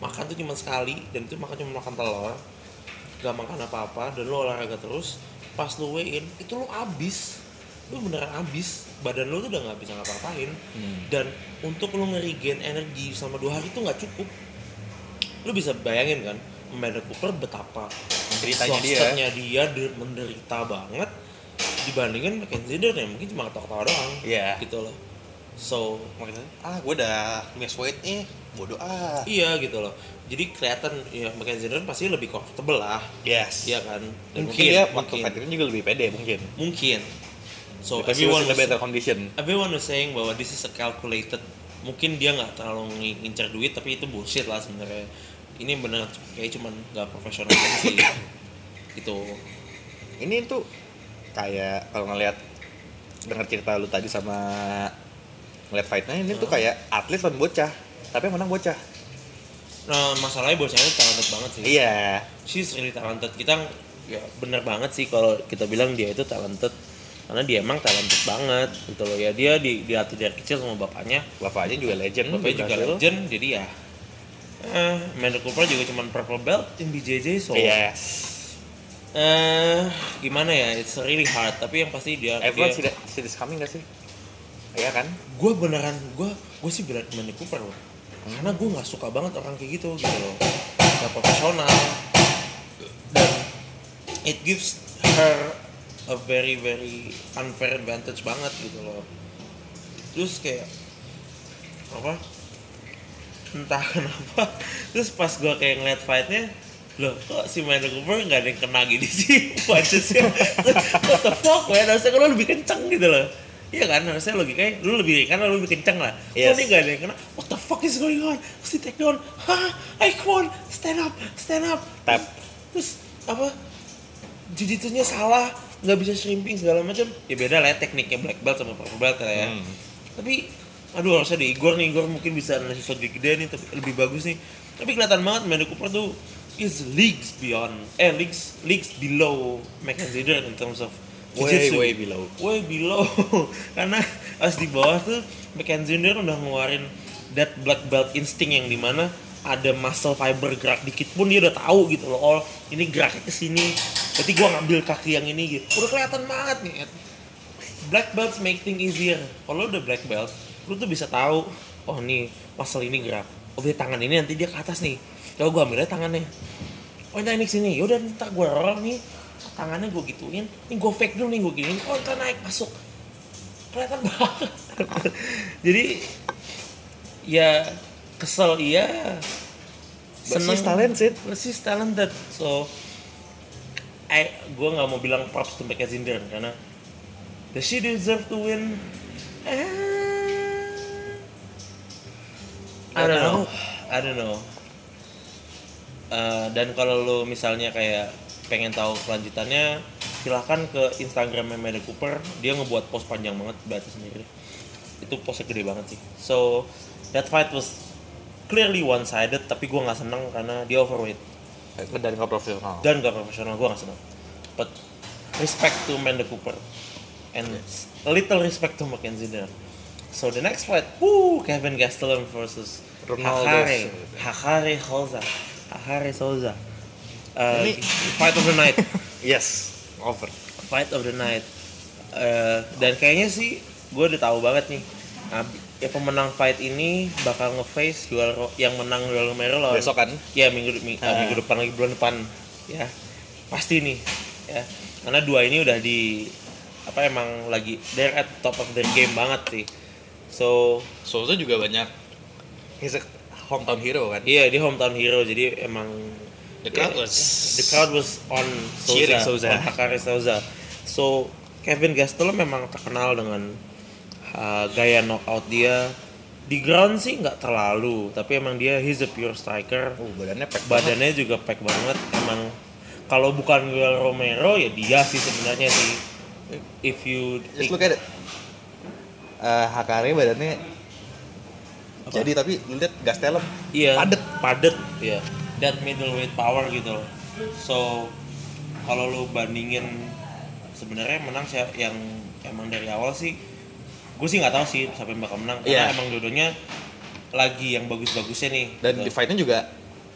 makan tuh cuma sekali dan itu makan cuma makan telur, gak makan apa-apa dan lo olahraga terus, pas lo weigh in itu lo abis, lo beneran abis, badan lo tuh udah nggak bisa ngapa-ngapain. hmm. Dan untuk lo nge-regain energi selama dua hari itu nggak cukup. Lo bisa bayangin kan Amanda Cooper betapa menderitanya dia, dia menderita banget dibandingin Mackenzie Dern yang mungkin cuma ketawa-ketawa doang. Iya. Gitu loh. So makanya ah gue udah miss weight nih, bodoh ah. Iya gitu loh. Jadi kelihatan ya Mackenzie Dern pasti lebih comfortable lah. Yes. Iya kan. Dan mungkin, mungkin dia waktu fight ini juga lebih pede mungkin. Mungkin. So because everyone was in a better condition. Everyone was saying bahwa this is a calculated. Mungkin dia nggak terlalu ngincer duit tapi itu bullshit lah sebenarnya. Ini benar kayak cuman nggak profesional aja sih. Gitu. Ini tuh kayak kalau ngelihat dengar cerita lu tadi sama ngeliat fightnya ini huh? tuh kayak atlet lawan bocah tapi yang menang bocah. Nah masalahnya bocahnya talented banget sih. Iya. Yeah. She's really talented. Kita ya bener banget sih kalau kita bilang dia itu talented karena dia emang talented banget gitu loh ya. Dia di dilatih dari kecil sama bapaknya. Bapaknya juga legend. Bapaknya juga hasil. legend jadi ya. Eh, Amanda Cooper juga cuma purple belt in B J J so. Yes. Eh gimana ya? It's really hard tapi yang pasti dia. Everyone dia, see this coming gak sih? Iya kan? Gue beneran, gue gue sih berat Amanda Cooper loh. Hmm. Karena gue nggak suka banget orang kayak gitu gitu loh. Gak profesional. Dan it gives her a very very unfair advantage banget gitu loh. Terus kayak apa? Entah kenapa. Terus pas gue kayak ngeliat fightnya, loh kok si Amanda Cooper nggak ada yang kena gini sih punchesnya. What the fuck man? Harusnya kan lo lebih kenceng gitu loh. Iya kan, harusnya logikanya lu lebih kan lu lebih kenceng lah. Yes. Kok ini gak ada yang kena? What the fuck is going on? Mesti take down. Hah? I come on, stand up, stand up. Tap. Terus apa? Jiu-jitsunya salah, nggak bisa shrimping segala macam. Ya beda lah ya, tekniknya black belt sama purple belt lah ya. Hmm. Tapi, aduh harusnya di Igor nih, Igor mungkin bisa ngasih shot gede nih, tapi lebih bagus nih. Tapi kelihatan banget Amanda Cooper tuh is leagues beyond, eh leagues leagues below Mackenzie Dern in terms of way way below way below karena pas di bawah tuh Mackenzie Dern udah ngeluarin that black belt instinct yang dimana ada muscle fiber gerak dikit pun dia udah tahu gitu loh, oh ini geraknya kesini berarti gua ngambil kaki yang ini gitu, udah kelihatan banget nih. Black belts make things easier. Kalau udah black belt lu tuh bisa tahu oh nih muscle ini gerak, oh dia tangan ini nanti dia ke atas nih, coba gua ambil aja tangannya, oh ini naik sini, yaudah ntar gua roll nih tangannya gue gituin, ini gue fake dulu nih gue gini, oh ntar naik masuk, kelihatan banget. Jadi ya kesel iya, seneng, she's talented, she's talented, so I gue nggak mau bilang props to Mackenzie Dern karena does she deserve to win? Eh, I don't know, I don't know. Uh, dan kalau lo misalnya kayak pengen tahu kelanjutannya, silahkan ke Instagramnya Amanda Cooper. Dia ngebuat post panjang banget, baca sendiri. Itu postnya gede banget sih. So that fight was clearly one sided, tapi gue nggak seneng karena dia overweight dan nggak profesional. Dan nggak profesional, gue nggak seneng. But respect to Amanda Cooper and yes. a little respect to Mackenzie Dern. So the next fight, woo, Kevin Gastelum versus Hakare Hakare Souza. Hakare Souza. Uh, Ini fight of the night. Yes, over. Fight of the night. Uh, dan kayaknya sih gue udah tahu banget nih. Nah, ya pemenang fight ini bakal nge-face Joel Ro- yang menang Joel Romero lawan. Besok kan? Ya minggu minggu, uh. minggu depan lagi bulan depan. Ya pasti nih. Ya karena dua ini udah di apa emang lagi they're at the top of their game banget sih. So Souza juga banyak. He's a hometown hero kan? Iya dia hometown hero jadi emang. The crowd was the crowd was on Souza, Souza. on Hakare Souza. So Kevin Gastelum memang terkenal dengan uh, gaya knockout dia. Di ground sih nggak terlalu, tapi emang dia he's a pure striker. Oh, badannya pack badannya banget. juga pack banget. Emang kalau bukan Joel Romero ya dia sih sebenarnya sih. If you just look at it, uh, Hakare badannya apa? Jadi tapi lu lihat Gastelum iya, padet padet ya. That middleweight power gitu loh. So kalau lu bandingin sebenarnya menang sih yang emang dari awal sih gue sih nggak tahu sih siapa yang bakal menang karena yeah. emang dua-duanya lagi yang bagus-bagusnya nih dan gitu. Di fightnya juga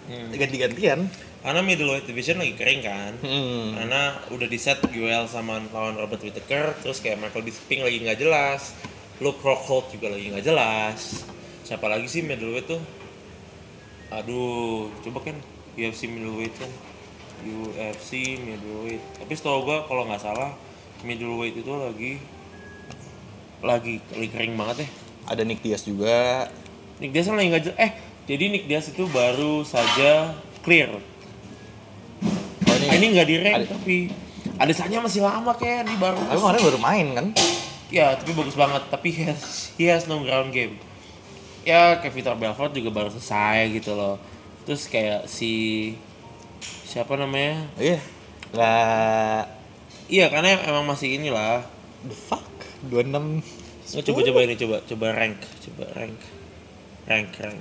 Hmm. ganti-gantian. Karena middleweight division lagi kering kan. Hmm. Karena udah di set Joel sama lawan Robert Whittaker, terus kayak Michael Bisping lagi nggak jelas, Luke Rockhold juga lagi nggak jelas. Siapa lagi sih middleweight tuh? Aduh, coba kan U F C middleweight kan, U F C middleweight. Tapi setahu gua kalau nggak salah middleweight itu lagi lagi lagi kering banget ya. Ada Nick Diaz juga. Nick Diaz kan lagi nggak jelas. Eh, jadi Nick Diaz itu baru saja clear. Oh, ini, Ini nggak di rank Adi- tapi Adesanya masih lama kayak di baru. Tapi kemarin baru main kan? Ya, tapi bagus banget. Tapi he has, he has no ground game. Ya, kayak Vitor Belfort juga baru selesai gitu loh. Terus kayak si siapa namanya? Oh, iya. Nggak. Iya, karena emang masih inilah. The fuck? dua puluh enam. Oh, coba coba ini coba coba rank, coba rank. Rank rank.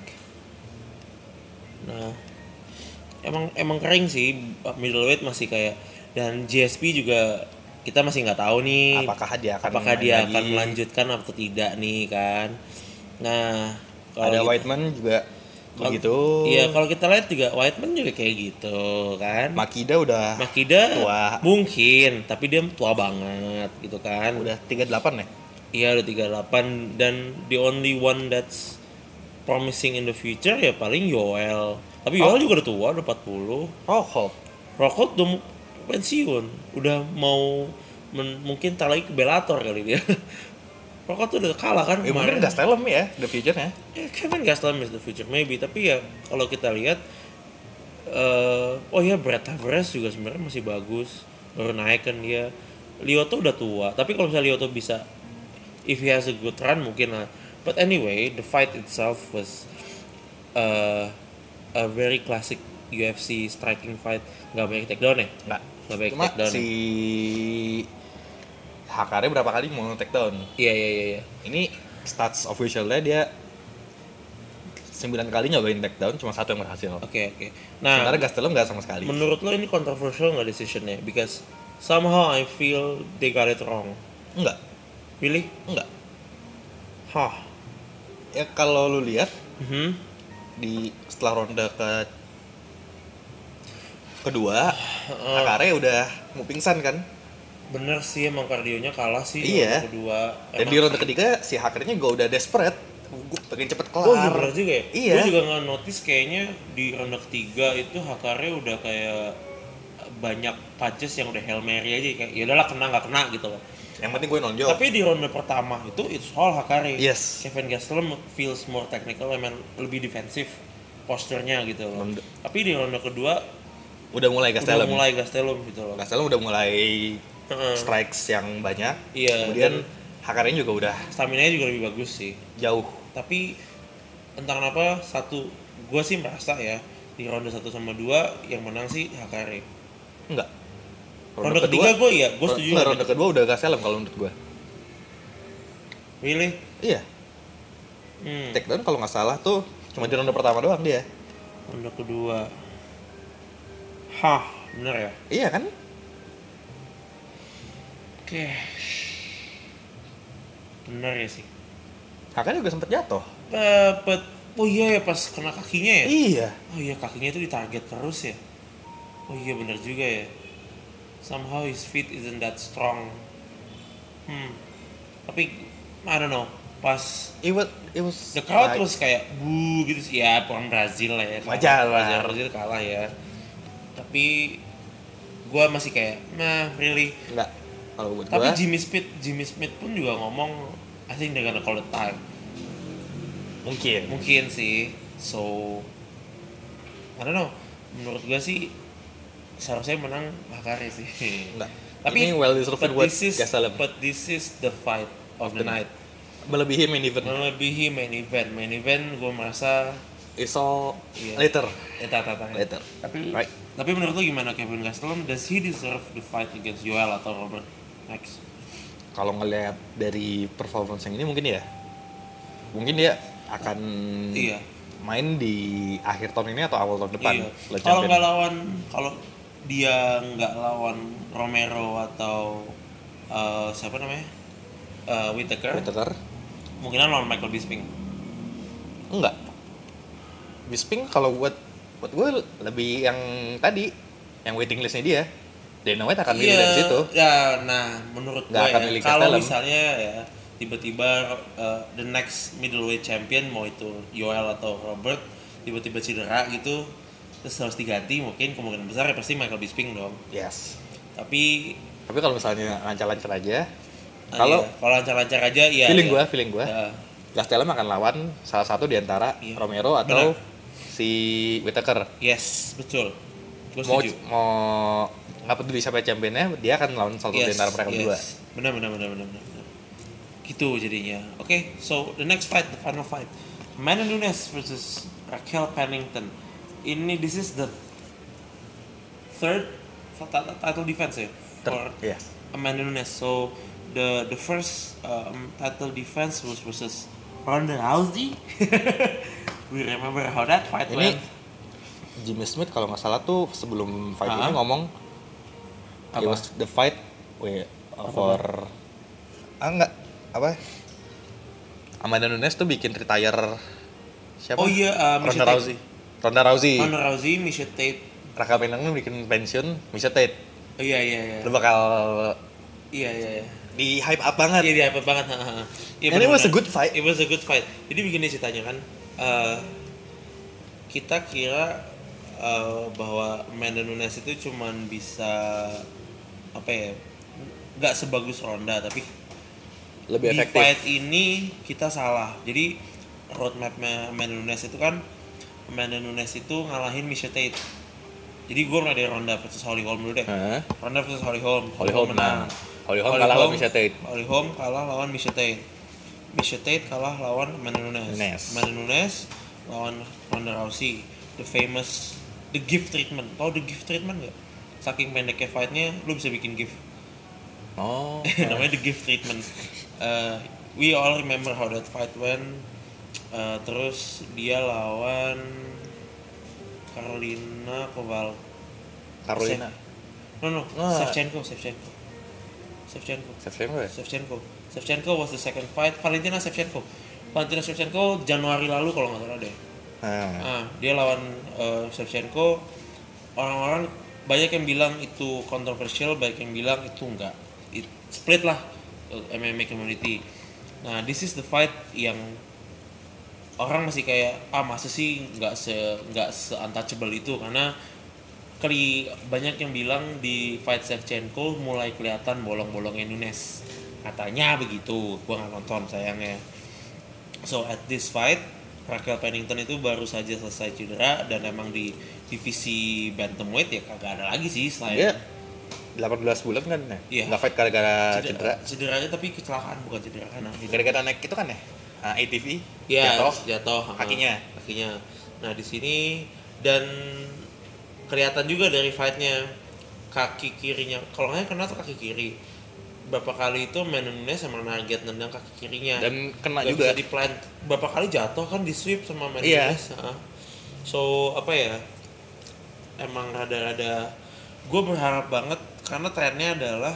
Nah, emang emang kering sih middleweight masih kayak, dan G S P juga kita masih nggak tahu nih Apakah dia akan apakah main dia lagi? akan melanjutkan atau tidak nih kan. Nah, kalau Ada kita- Whiteman juga kalau- begitu. Iya, kalau kita lihat juga Whiteman juga kayak gitu kan. Makida udah Makida tua. mungkin, tapi dia tua banget gitu kan. udah tiga puluh delapan ya? Iya, udah tiga puluh delapan, dan the only one that's promising in the future ya paling Yoel. Tapi Yoel Oh. juga udah tua, udah empat puluh. Rockhold. Rockhold udah mau pensiun, udah mau men- mungkin tak lagi ke Bellator kali dia. Rockhold tuh udah kalah kan Eh, mungkin Gastelum ya, the future-nya. Ya, Kevin Gastelum is the future maybe, tapi ya kalau kita lihat eh oh ya Brett Tavares juga sebenarnya masih bagus, baru naik kan dia. Lyoto udah tua, tapi kalau misalnya Lyoto bisa, if he has a good run mungkin lah. But anyway, the fight itself was uh, a very classic U F C striking fight. Gak banyak takedown ya? Nggak. Gak banyak Cuma takedown si Hakare berapa kali mau takedown? ya? Iya iya iya iya. Ini stats officialnya dia sembilan kali nyobain takedown, cuma satu yang berhasil. Oke oke. Nah, Sementara Gastelum nggak sama sekali. menurut lo ini controversial nggak decisionnya? Because somehow I feel they got it wrong. Enggak, Really? enggak. Hah? Ya kalau lu lihat Mhm. di setelah ronde ke kedua, Hakare udah mau pingsan kan? Bener sih, emang kardionya kalah sih. Iya. Ronde kedua. Dan di ronde ketiga si Hakare-nya juga udah desperate. Gue pengen cepet kelar. Oh iya bener juga ya? Iya. Gue juga nggak notice kayaknya di ronde ketiga itu Hakare udah kayak banyak punches yang udah Hail Mary aja, kayak ya udahlah kena nggak kena gitu loh. Yang penting gue nonjol. Tapi di ronde pertama itu it's all Hakare. Yes. Kevin Gastelum feels more technical, emang lebih defensif posturnya gitu loh. Ronde- Tapi di ronde kedua udah mulai Gastelum. udah mulai Gastelum gitu loh. Gastelum udah mulai Heeh. strikes yang banyak. Iya, Kemudian dan- Hakare-nya juga udah Stamina-nya juga lebih bagus sih. jauh. Tapi entah kenapa satu, gue sih merasa ya di ronde satu sama dua yang menang sih Hakare. Enggak. Ronde ketiga gue iya, gue setuju. Enggak, ronde kedua udah Gastelum kalau menurut gue. Really? Iya. Hmm. Takedown kalau nggak salah tuh cuma di ronde pertama doang dia. Ronde kedua. Hah, bener ya? Iya kan? Oke. Bener ya sih. Hakare juga sempet jatuh. Dapet. Oh iya ya, pas kena kakinya ya? Iya. Oh iya, kakinya itu ditarget terus ya? Oh iya bener juga ya. Somehow his feet isn't that strong. Hmm. Tapi I don't know. Pas It was, it was the crowd like- was kayak bu gitu sih. Ya orang Brazil lah ya. Wajar lah. Brazil, Brazil kalah ya. Tapi gua masih kayak, nah really. Enggak. Kalau buat Tapi gua Jimmy Smith, Jimmy Smith pun juga ngomong, I think they're gonna call it time. mungkin. Mungkin sih. So I don't know. Menurut gua sih seharusnya menang Hakare sih. Enggak. Tapi Ini well deserved but buat this is Gastelum. but this is the fight of the The- night. Melebihi main event. Melebihi main event. Main event gua merasa It's all Iya. later. eta tata. Later. Tapi Right. tapi menurut lu gimana Kevin Gastelum? Does he deserve the fight against Yoel atau Robert Max? Kalau ngelihat dari performance yang ini mungkin ya. Mungkin dia akan Iya. main di akhir tahun ini atau awal tahun depan. Iya. Light Kalau champion. nggak lawan, kalau dia nggak lawan Romero atau eh, siapa namanya, Eh, Whittaker, Whittaker? mungkin lawan Michael Bisping. Enggak. Bisping kalau buat buat gue lebih yang tadi, yang waiting listnya dia. Dana White akan milih Iya, dari situ. Ya, nah menurut gue Nggak akan ya, milih kalau Gastelum. misalnya ya tiba-tiba uh, the next middleweight champion mau itu Yoel atau Robert tiba-tiba cedera gitu, terus harus diganti, mungkin kemungkinan besar ya pasti Michael Bisping dong. Yes. Tapi Tapi kalau misalnya lancar-lancar aja, ah, kalau iya, kalau lancar-lancar aja ya. feeling ya. gue, feeling gue, Ya. Gastelum akan lawan salah satu di antara Iya. Romero atau Benar. si Whittaker. Yes, betul. Gue Mau setuju. mau nggak peduli siapa championnya, dia akan lawan salah satu di antara mereka berdua. Benar, benar, benar, benar, benar. Gitu jadinya. Oke, okay, so the next fight, the final fight, Amanda Nunes versus Raquel Pennington. Ini this is the third title defense ya for Yes. Amanda Nunes. So the the first um, title defense was versus Ronda Rousey. We remember how that fight Ini went. Jimmy Smith kalau nggak salah tuh sebelum fight Ah. ini ngomong Apa? it was the fight we, uh, for ah enggak apa Amanda Nunes tuh bikin retire siapa? Oh iya, uh, Miesha Ronda Tate. Rousey. Ronda Rousey. Ronda Rousey, Miesha Tate. Raquel Pennington bikin pensiun Miesha Tate. Oh iya iya iya. Lu bakal Iya iya iya. di hype up banget. Iya dia apa banget. Iya, And it was a benar-benar. good fight. It was a good fight. Jadi begini ceritanya kan, uh, kita kira uh, bahwa Amanda Nunes itu cuman bisa apa ya, nggak sebagus Ronda, tapi Lebih di efektif. fight ini kita salah. Jadi roadmapnya Amanda Nunes itu kan, Amanda Nunes itu ngalahin Miesha Tate. Jadi gue mulai dari Ronda versus Holly Holm dulu deh. Hah? Ronda versus Holly Holm. Holly Holm menang. Holly Holm Holly kalah lawan Holm- Miesha Tate. Holly Holm kalah lawan Miesha Tate. Miesha Tate kalah lawan Amanda Nunes. Nunes. Amanda Nunes lawan Ronda Rousey. The famous the gift treatment. Tau the gift treatment nggak? Saking pendeknya fightnya, lu bisa bikin gift. Oh. Namanya the gift treatment. Uh, we all remember how that fight went. Uh, terus dia lawan Karolina Koval. Carolina. No no, Ah. Shevchenko, Shevchenko. Shevchenko. Shevchenko ya? Shevchenko. Shevchenko was the second fight. Valentina Shevchenko. Valentina Shevchenko Januari lalu kalau nggak salah deh. Nah. Ah, dia lawan uh, Shevchenko. Orang-orang banyak yang bilang itu kontroversial, banyak yang bilang itu enggak. It split lah uh, M M A community. Nah, this is the fight yang orang masih kayak ah masa sih nggak se nggak se untouchable itu, karena kali banyak yang bilang di fight Shevchenko mulai kelihatan bolong-bolongnya Nunes, katanya begitu. Gua nggak nonton sayangnya. So at this fight Raquel Pennington itu baru saja selesai cedera, dan emang di divisi bantamweight ya kagak ada lagi sih selain Dia delapan belas bulan kan ya? Iya. Nggak fight gara-gara cedera. Cederanya tapi kecelakaan, bukan cedera kanan. Gara-gara naik itu kan ya? Ah, A T V Iya, jatuh. jatuh ha, Kakinya. kakinya. Nah di sini dan kelihatan juga dari fightnya kaki kirinya, kalau nggak kena tuh kaki kiri. Berapa kali itu Amanda Nunes sama target nendang kaki kirinya. Dan kena Nggak juga. bisa di-plant. Berapa kali jatuh kan di sweep sama Amanda Iya. Nunes. Ha. So apa ya? Emang rada-rada. Gue berharap banget karena trennya adalah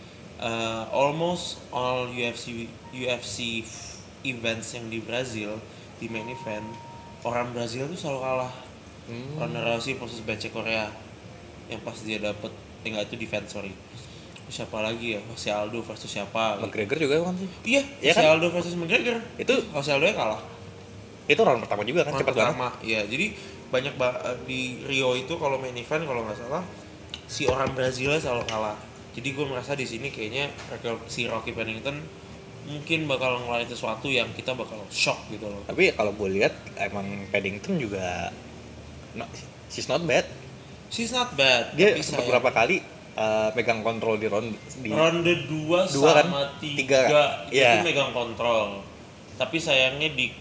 uh, almost all U F C U F C events yang di Brazil di main event orang Brazil tuh selalu kalah. Hmm. Ronda Rousey versus Bence Korea yang pas dia dapet, eh, enggak itu defense sorry. Siapa lagi ya? Jose Aldo versus siapa? Gitu. McGregor juga kan sih. Iya, Iya Jose kan? Aldo versus McGregor. Itu Jose Aldo nya kalah. itu round pertama juga kan, Round cepat banget. pertama, iya. Jadi banyak ba- di Rio itu kalau main event kalau nggak salah si orang Brazil selalu kalah. Jadi gue merasa di sini kayaknya Raquel- si Rocky Pennington mungkin bakal ngeluarin sesuatu yang kita bakal shock gitu loh. Tapi kalau gue lihat emang Paddington juga no, she's not bad. She's not bad. Dia tapi sempat sayang- berapa kali uh, pegang kontrol di round di ronde dua Dua kan? sama Tiga tiga, kan? itu Iya. megang kontrol. Tapi sayangnya di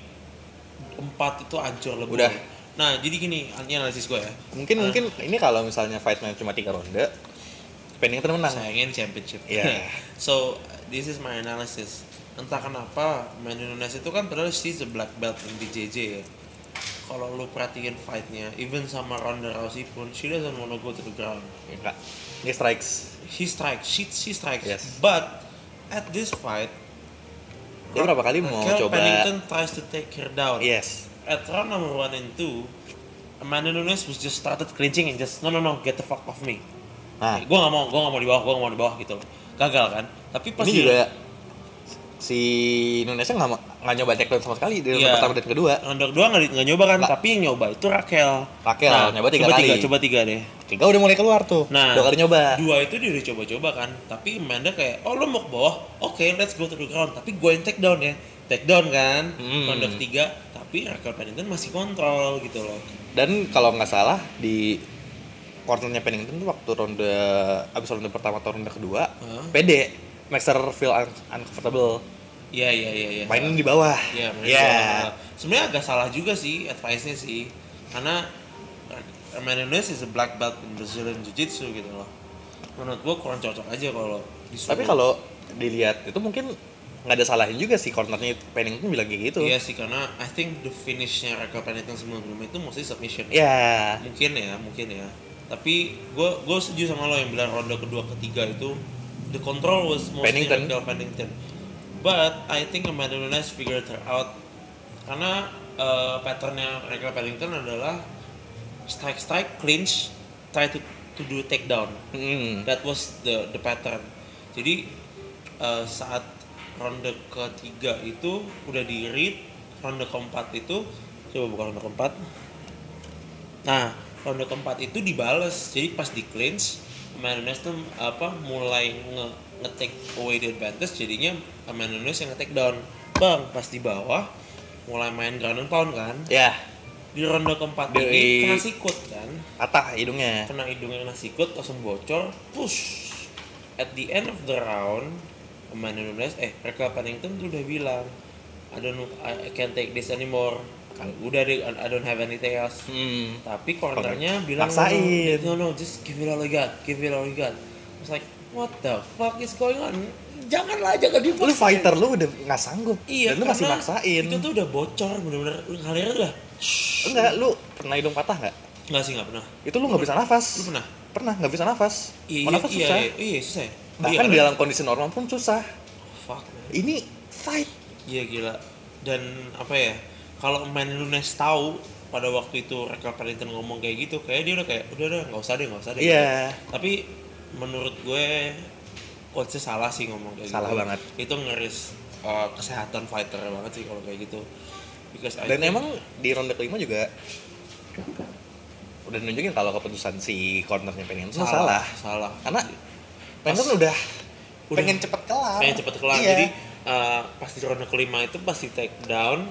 empat itu hancur lebur. Udah. Nah, jadi gini, ini analisis gue ya. mungkin Ah. mungkin ini kalau misalnya fightnya cuma tiga ronde Paddington menang. Sayangnya ini championship. Iya. So, this is my analysis. Entah kenapa Amanda Nunes itu kan padahal she's a black belt in B J J ya. Kalau lu perhatiin fightnya, even sama Ronda Rousey pun, she doesn't wanna go to the ground. Enggak. Dia strikes. She strikes, she, she strikes. Yes. But at this fight, Dia berapa kali mau Raquel coba Pennington tries to take her down. Yes. At round number one and two, Amanda Nunes was just started clinching and just no no no get the fuck off me. Nah, Gue nggak mau, gue nggak mau di bawah, gue nggak mau di bawah gitu loh. Gagal kan? Tapi pas ini dia- juga si Nunesnya nggak nggak nyoba takedown sama sekali di ronde Iya. pertama dan kedua. ronde kedua nggak nggak nyoba kan, Nggak. tapi yang nyoba itu Raquel. Raquel, nyoba tiga coba kali. Tiga, coba tiga deh. Tiga udah mulai keluar tuh. Nah, dua kali nyoba. Dua itu dia udah coba-coba kan, tapi Amanda kayak, oh lo mau ke bawah, oke okay, let's go to the ground. Tapi gue yang take down ya, take down kan, Hmm. ronde ketiga. Tapi Raquel Pennington masih kontrol gitu loh. Dan kalau nggak salah di cornernya Pennington tuh waktu ronde abis ronde pertama atau ronde kedua, Huh? pede, makes her feel un- uncomfortable. Iya iya iya. iya. Mainin di bawah. Iya, mainin Iya. di bawah. Sebenarnya agak salah juga sih advice-nya sih, karena Amanda Nunes is a black belt in Brazilian Jiu-Jitsu gitu loh. Menurut gua kurang cocok aja kalau disuruh. Tapi kalau dilihat itu mungkin nggak ada salahnya juga sih cornernya Pennington bilang kayak gitu. Iya sih, karena I think the finish-nya Raquel Pennington sebelum-sebelumnya itu mostly submission. Iya. Mungkin ya, mungkin ya. Tapi gue gue setuju sama lo yang bilang ronde kedua ketiga itu the control was mostly Pennington. Raquel Pennington. But I think Amanda Nunes figured her out karena uh, patternnya Raquel Pennington adalah strike strike clinch try to to do takedown. Hmm. That was the the pattern. Jadi uh, saat ronde ketiga itu udah di read, ronde keempat itu coba buka ronde keempat. Nah, ronde keempat itu dibales. Jadi pas di clinch, Amanda Nunes tuh apa mulai nge nge-take away the advantage, jadinya Amanda Nunes yang nge-take down. Bang, pas di bawah mulai main ground and pound kan. Ya, Di ronde keempat Di- ini kena sikut kan. patah hidungnya. Kena hidungnya kena sikut, langsung bocor, push. At the end of the round, Amanda Nunes, eh Raquel Pennington tuh udah bilang, I don't, I can't take this anymore. Kan udah deh, I don't have anything else. Hmm. Tapi cornernya bilang, Maksain. no, no, no, just give it all you got, give it all you got. I was like, what the fuck is going on? Janganlah, jangan dipaksain. Lu fighter lu udah nggak sanggup. Iya, Dan lu masih karena maksain. Itu tuh udah bocor, bener-bener. Ngalir udah. Enggak, lu pernah hidung patah nggak? Nggak sih, nggak pernah. Itu lu nggak bisa nafas. Lu pernah? Pernah nggak bisa nafas. Iya, Mau iya, nafas iya, susah. iya, iya, susah ya? Bahkan Iya, di karena- dalam kondisi normal pun susah. Fuck, man. Ini fight. Iya gila. Dan apa ya? Kalau Amanda Nunes tahu pada waktu itu Raquel Pennington ngomong kayak gitu, kayak dia udah kayak udah udah nggak usah deh, nggak usah deh. Iya. Tapi menurut gue coachnya salah sih ngomong kayak Salah gitu. banget. Itu ngeris uh, kesehatan fighter banget sih kalau kayak gitu. Because I Dan think- emang di ronde kelima juga udah nunjukin kalau keputusan si cornernya Pennington salah. Salah. Karena Pennington udah, Udah. pengen cepet kelar. pengen cepet kelar. Iya. Jadi uh, pas di ronde kelima itu pas di take down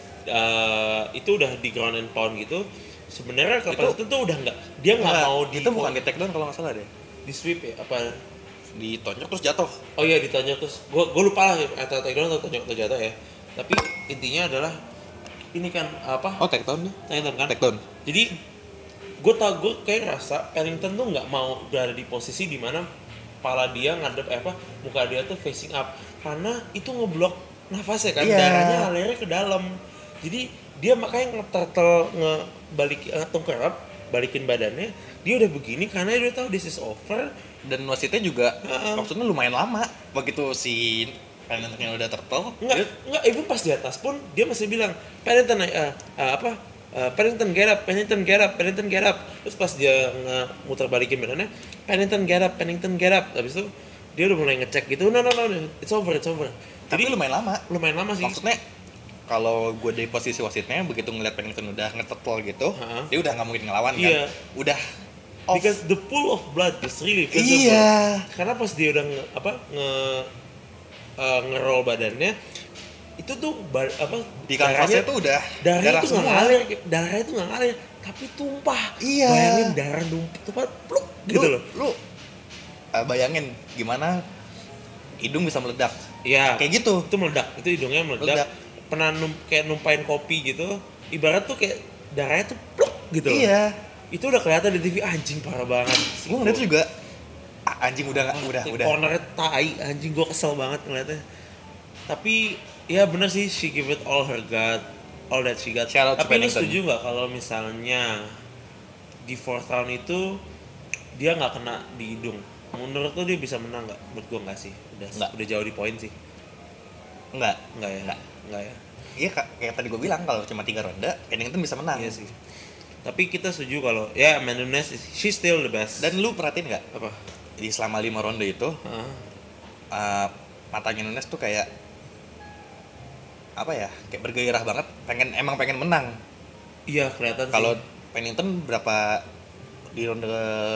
uh, itu udah di ground and pound gitu. Sebenarnya Itu- Raquel Pennington tuh udah nggak, dia nggak Nggak, mau di itu bukan di take down kalau nggak salah deh. di sweep ya apa? Ditonjok terus jatuh. Oh iya ditanya terus, gue gue lupa lah atau take down atau tonjok atau jatuh ya. Tapi intinya adalah ini kan apa? Oh, take down nih. Take down kan? Take down. Jadi gue tau gue kayak rasa Pennington tuh nggak mau berada di posisi di mana kepala dia ngadep eh, apa muka dia tuh facing up karena itu ngeblok nafasnya kan, Iya. darahnya alirnya ke dalam. Jadi dia makanya nge-turtle ngebalik uh, tungkerap balikin badannya, dia udah begini karena dia udah tahu this is over. Dan wasitnya juga Heeh. maksudnya lumayan lama. Begitu si Pennington udah turtle, Enggak, dia- enggak, even pas di atas pun dia masih bilang Pennington uh, uh, apa uh, Pennington get up, Pennington get up, Pennington get up. Terus pas dia muter balikin badannya, Pennington get up, Pennington get up. Habis itu dia udah mulai ngecek gitu, no no no, it's over, it's over. tapi Jadi lumayan lama. lumayan lama sih. Maksudnya kalau gue dari posisi wasitnya begitu ngeliat Pennington udah ngeturtle gitu, Heeh. dia udah nggak mungkin ngelawan Iya. kan. Udah off. Because the pool of blood is really visible. Iya. Karena pas dia udah nge, apa nge uh, ngeroll badannya itu tuh bar, apa Di kanvasnya darahnya- tuh udah darahnya darah tuh nggak semua. ngalir, darahnya tuh nggak ngalir, tapi tumpah. Iya. Bayangin darah numpuk tumpah, pluk gitu Lu- loh. Lu uh, bayangin gimana hidung bisa meledak. Iya. Kayak gitu. Itu meledak, itu hidungnya meledak. Meledak. Pernah num, kayak numpain kopi gitu, ibarat tuh kayak darahnya tuh pluk gitu loh. Iya. Itu udah kelihatan di T V, anjing parah banget. Gue ngeliat juga ah, anjing udah nggak udah udah. Cornernya tai, anjing gue kesel banget ngeliatnya. Tapi ya bener sih, she give it all her God, all that she got. Shout out to Tapi lu Pennington. setuju nggak kalau misalnya di fourth round itu dia nggak kena di hidung? Menurut lu dia bisa menang nggak? Menurut gue nggak sih. Udah Nggak. udah jauh di poin sih. Enggak. Nggak ya? Nggak. Nggak ya? Iya kak, kayak tadi gue bilang kalau cuma tiga ronde, Pennington bisa menang. Iya sih. Tapi kita setuju kalau ya Amanda Nunes, she's still the best. Dan lu perhatiin nggak? Apa? Di selama lima ronde itu, Uh. uh, matanya Nunes tuh kayak apa ya? Kayak bergairah banget. Pengen emang pengen menang. Iya kelihatan. Kalau sih. Pennington berapa di ronde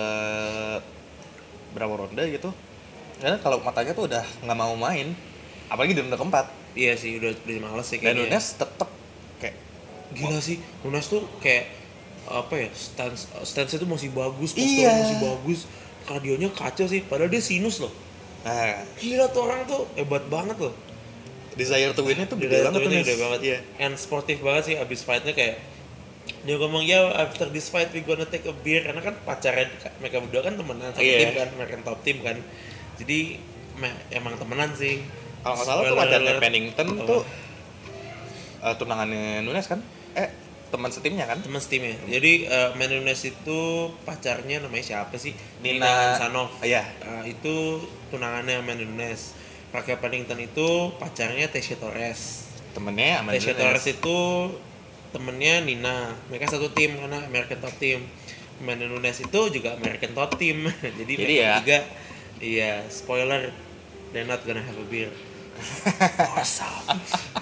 berapa ronde gitu? Karena kalau matanya tuh udah nggak mau main, apalagi di ronde keempat. Iya sih udah udah males sih Dan kayaknya. Nunes tetep kayak Gila sih, Nunes tuh kayak apa ya, stance stance itu masih bagus, posturnya Iya. masih bagus, kardionya kacau sih, padahal dia sinus loh. nah, Gila tuh orang tuh hebat banget loh. desire to win-nya tuh Dia gede banget tuh. gede Nunes. banget. Iya. And sportif banget sih abis fightnya kayak dia ngomong ya after this fight we gonna take a beer karena kan pacaran mereka berdua kan temenan satu Iya. tim kan, mereka top tim kan. Jadi me- emang temenan sih. Kalau nggak salah tuh Spoiler pacarnya alert. Pennington Apa? tuh uh, tunangannya Nunes kan? Eh, teman setimnya kan? Teman setimnya. Jadi uh, Amanda Nunes itu pacarnya namanya siapa sih? Nina- Hansanov. Iya. Uh, itu tunangannya Amanda Nunes. Raquel Pennington itu pacarnya Tecia Torres. Temennya sama Tecia Nunes. Torres itu temennya Nina. Mereka satu tim karena American Top Team. Amanda Nunes itu juga American Top Team. Jadi, Jadi mereka ya. juga iya, spoiler, they're not gonna have a beer. Awesome.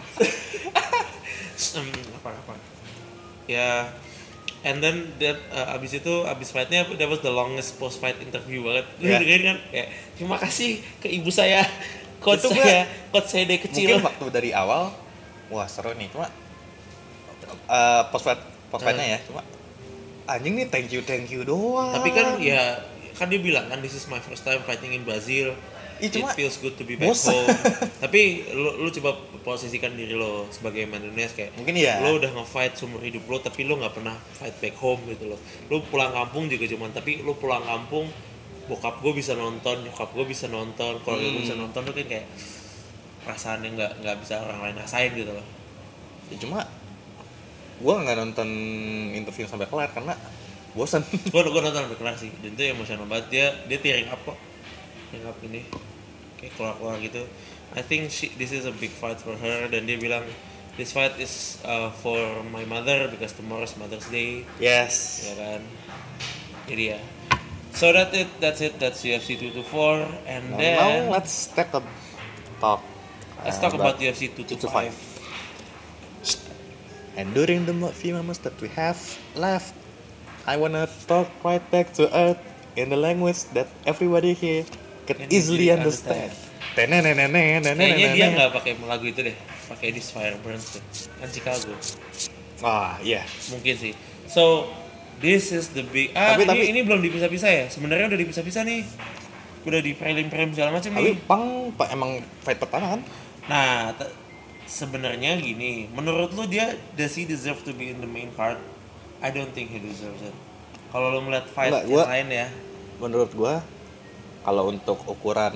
um, apa-apa. Ya, and then that uh, abis itu abis fightnya that was the longest post fight interview banget. Lu Ya. dengerin kan? Kayak terima kasih ke ibu saya, coach Itu saya, coach saya dari kecil. Mungkin waktu dari awal, wah seru nih. Cuma uh, post fight post fightnya ya, cuma anjing nih thank you thank you doang. Tapi kan ya kan dia bilang kan this is my first time fighting in Brazil. Ih, It cuma feels good to be back bosan. home. Tapi lu, lu coba posisikan diri lo sebagai Amanda Nunes kayak Mungkin iya. lo udah nge-fight seumur hidup lo tapi lo nggak pernah fight back home gitu loh. Lo pulang kampung juga cuman tapi lo pulang kampung bokap gue bisa nonton, nyokap gue bisa nonton, keluarga gue Hmm. bisa nonton, lo kan kayak perasaan yang nggak nggak bisa orang lain rasain gitu loh. Ya, cuma gue nggak nonton interview sampai kelar karena bosan. gue gue nonton sampai kelar sih dan itu emosional banget. Dia dia tearing up kok, tearing up ini kayak keluar-keluar gitu. I think she, this is a big fight for her dan dia bilang this fight is uh, for my mother because tomorrow's Mother's Day, Yes. ya kan. Jadi ya, so that's it, that's it, that's U F C two twenty-four and Now, then now let's take a talk. let's uh, talk about U F C two twenty-five. And during the mo- few moments that we have left, I wanna talk right back to earth in the language that everybody here can Can easily easily understand. Kayaknya dia nggak pakai lagu itu deh, pakai This Fire Burns deh, kan Chicago. Ah, iya. Mungkin sih. So this is the big. Ah, Tapi- ini, tapi- ini belum dipisah-pisah ya? Sebenarnya udah dipisah-pisah nih. Udah di prelim-prelim segala macam Tapi nih. Pang pa- emang fight pertama kan? Nah, t- sebenarnya gini. Menurut lu dia does he deserve to be in the main card? I don't think he deserves it. Kalau lu ngeliat fight Enggak, yang gua- lain ya. Menurut gua kalau untuk ukuran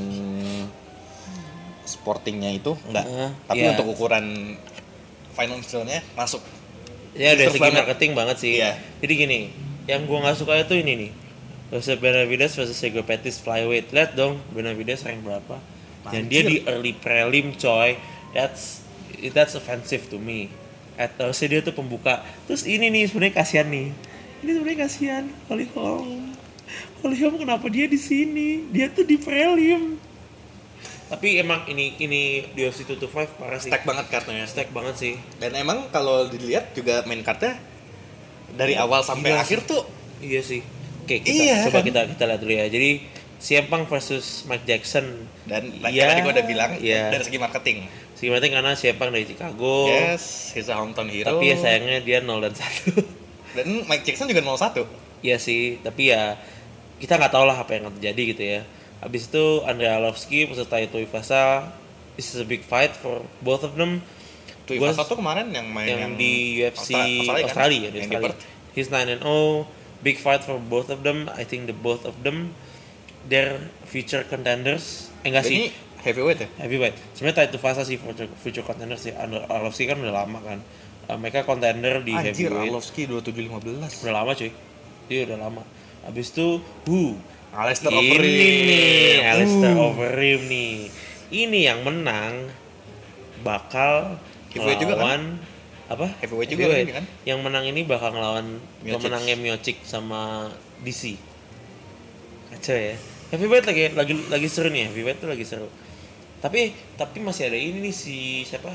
sportingnya itu enggak. Uh, Tapi iya. untuk ukuran financialnya masuk. Ya dari Deserve segi banget. marketing banget sih. Iya. Jadi gini, yang gua nggak suka itu ini nih. Joseph Benavidez versus Sergio Pettis flyweight. Lihat dong Benavidez rank berapa? Dan dia di early prelim coy. That's that's offensive to me. At harusnya dia tuh pembuka. Terus ini nih sebenarnya kasihan nih. Ini sebenarnya kasihan. Holly Holm. Holly Holm kenapa dia di sini? Dia tuh di prelim. Tapi emang ini ini U F C two twenty-five parah sih. Stack banget kartunya. Stack banget sih. Dan emang kalau dilihat juga main cardnya dari awal sampai Gila akhir sih. tuh Iya sih. Oke, kita Iya, coba kan? kita kita lihat dulu ya. Jadi C M Punk versus Mike Jackson. dan Iya, kayak tadi gue udah bilang iya. dari segi marketing. Sebenarnya karena C M Punk dari Chicago. Yes, he's a hometown hero. Tapi ya sayangnya dia nol dan satu. Dan Mike Jackson juga nol satu. Iya sih, tapi ya kita nggak tahu lah apa yang akan terjadi gitu ya. Habis itu Andrei Arlovski versus Taito Ifasa. This is a big fight for both of them. Tuh Gua- Ivasa tuh kemarin yang main yang, yang di U F C Austra- Australia, Australia, ya, kan? di Yang di Australia. Perth. He's nine and oh. Big fight for both of them. I think the both of them they're future contenders. Eh enggak Ini sih, heavyweight ya? heavyweight. Sebenarnya Taito Ifasa sih future, future contenders sih. Andrei Arlovski kan udah lama kan. Uh, mereka contender di Anjir, heavyweight. Arlovski dua puluh tujuh lima belas. Udah lama cuy. Dia udah lama. Habis itu, who? Alistair Ini Overeem. nih, Alistair Uh. Overeem nih. Ini yang menang bakal Giveaway juga kan? melawan apa? Heavyweight juga ini kan? Yang menang ini bakal ngelawan Miocic. pemenangnya Miocic sama D C. Kacau ya. Heavyweight lagi lagi lagi seru nih, heavyweight tuh lagi seru. Tapi tapi masih ada ini nih si siapa?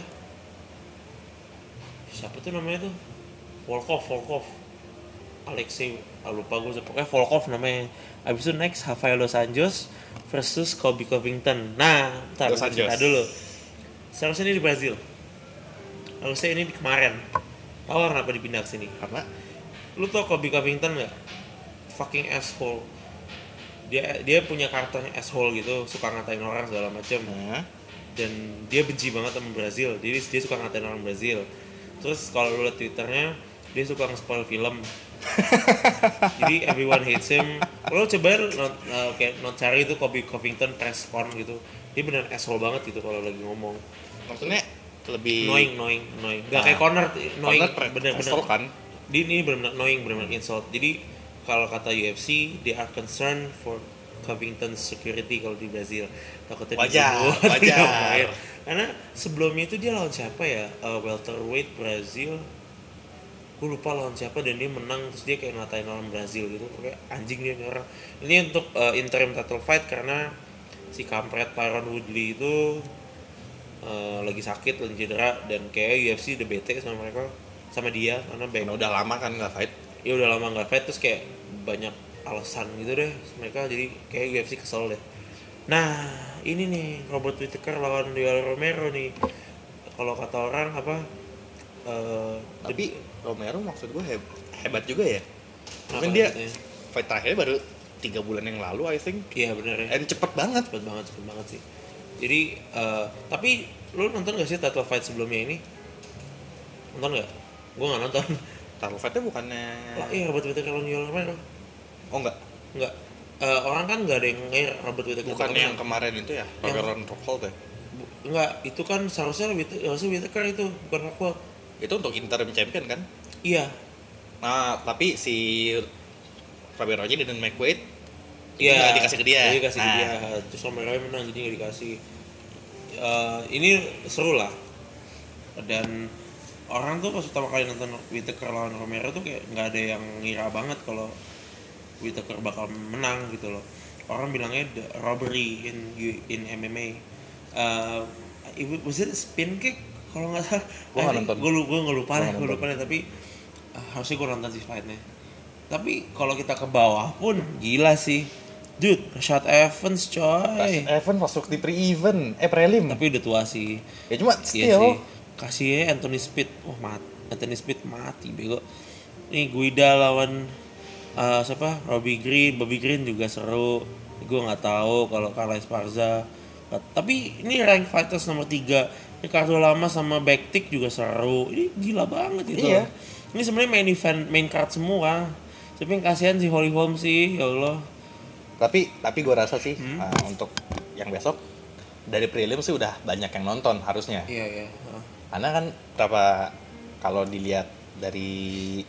Siapa tuh namanya tuh? Volkov, Volkov. Alexei, ah, lupa gue, pokoknya Volkov namanya. Abis itu next Rafael Dos Anjos versus Colby Covington. Nah, bentar, Dos kita Anjos. dulu. Seharusnya ini di Brazil. Harusnya ini di kemarin. Tahu kenapa dipindah ke sini? Karena Lu tau Colby Covington nggak? Fucking asshole. Dia dia punya karakternya asshole gitu, suka ngatain orang segala macam. nah, Dan dia benci banget sama Brazil. Jadi dia suka ngatain orang Brazil. Terus kalau lu liat Twitternya, dia suka nge-spoil film. Jadi everyone hates him. Lo coba not, uh, kayak not cari itu Colby Covington press con gitu. Dia bener asshole banget gitu kalau lagi ngomong. maksudnya lebih Annoying, annoying, annoying. Gak Nah, kayak Conor, annoying, Conor pre- bener-bener. asshole kan? Dia ini bener-bener annoying, bener-bener insult. Jadi kalau kata U F C, they are concerned for Covington's security kalau di Brazil. Takutnya Wajar, dibunuh. wajar. Karena sebelumnya itu dia lawan siapa ya? Uh, welterweight Brazil. Gue lupa lawan siapa dan dia menang, terus dia kayak ngatain orang Brazil gitu, kayak anjing dia nih orang. Ini untuk uh, interim title fight karena si kampret Tyron Woodley itu uh, lagi sakit, lagi cedera, dan kayak U F C udah bete sama mereka, sama dia karena karena banyak udah lama kan nggak fight. ya udah lama nggak fight, terus kayak banyak alasan gitu deh mereka, jadi kayak U F C kesel deh. Nah ini nih Robert Whittaker lawan Yoel Romero nih, kalau kata orang apa uh, Tapi Romero maksud gue heb- hebat juga ya. Apa Mungkin dia hebatnya? fight terakhirnya baru tiga bulan yang lalu I think. Iya bener ya. And cepet banget. Cepet banget, cepet banget sih. Jadi, uh, tapi lu nonton gak sih title fight sebelumnya ini? Nonton gak? Gue gak nonton. Title fightnya bukannya Lah iya Robert Whittaker lawan Yoel Romero. Oh enggak. Enggak. Uh, orang kan gak ada yang ngair Robert Whittaker. Bukannya yang kemarin itu ya, Yang- Ron Rockhold ya? Bu- Enggak, itu kan seharusnya Whittaker, harusnya Whittaker itu, bukan Rockhold. Itu untuk interim champion kan? Iya. Nah, tapi si Robert Roger dan Mike Wade Iya. nggak dikasih ke dia. Iya, dikasih ke Nah. dia. Terus Romero menang, jadi nggak dikasih. Uh, ini seru lah. Dan orang tuh pas pertama kali nonton Whittaker lawan Romero tuh kayak nggak ada yang ngira banget kalau Whittaker bakal menang gitu loh. Orang bilangnya the robbery in in M M A. Uh, it- was it a spin kick? Kalau nggak salah. Gua nggak nonton. Gue gue nggak lupa Gua deh, nggak gue nonton. lupa deh. Tapi uh, harusnya gue nonton sih fightnya. Tapi kalau kita ke bawah pun gila sih. Dude, Rashad Evans coy. Evan masuk di pre-event, eh prelim. Tapi udah tua sih. Ya cuma Iya still. sih. Kasih aja Anthony Smith. Wah, mati. Anthony Smith mati bego. Nih Guida lawan uh, siapa? Robbie Green. Bobby Green juga seru. Gue nggak tahu kalau Carla Esparza. Tapi ini rank fighters nomor tiga. Ricardo Lama sama Bektik juga seru. Ini gila banget itu. Iya. Ini sebenarnya main event, main card semua. Tapi yang kasihan si Holly Holm sih, ya Allah. Tapi tapi gue rasa sih Hmm? uh, untuk yang besok dari prelim sih udah banyak yang nonton harusnya. Iya iya. Heeh. Karena kan berapa kalau dilihat dari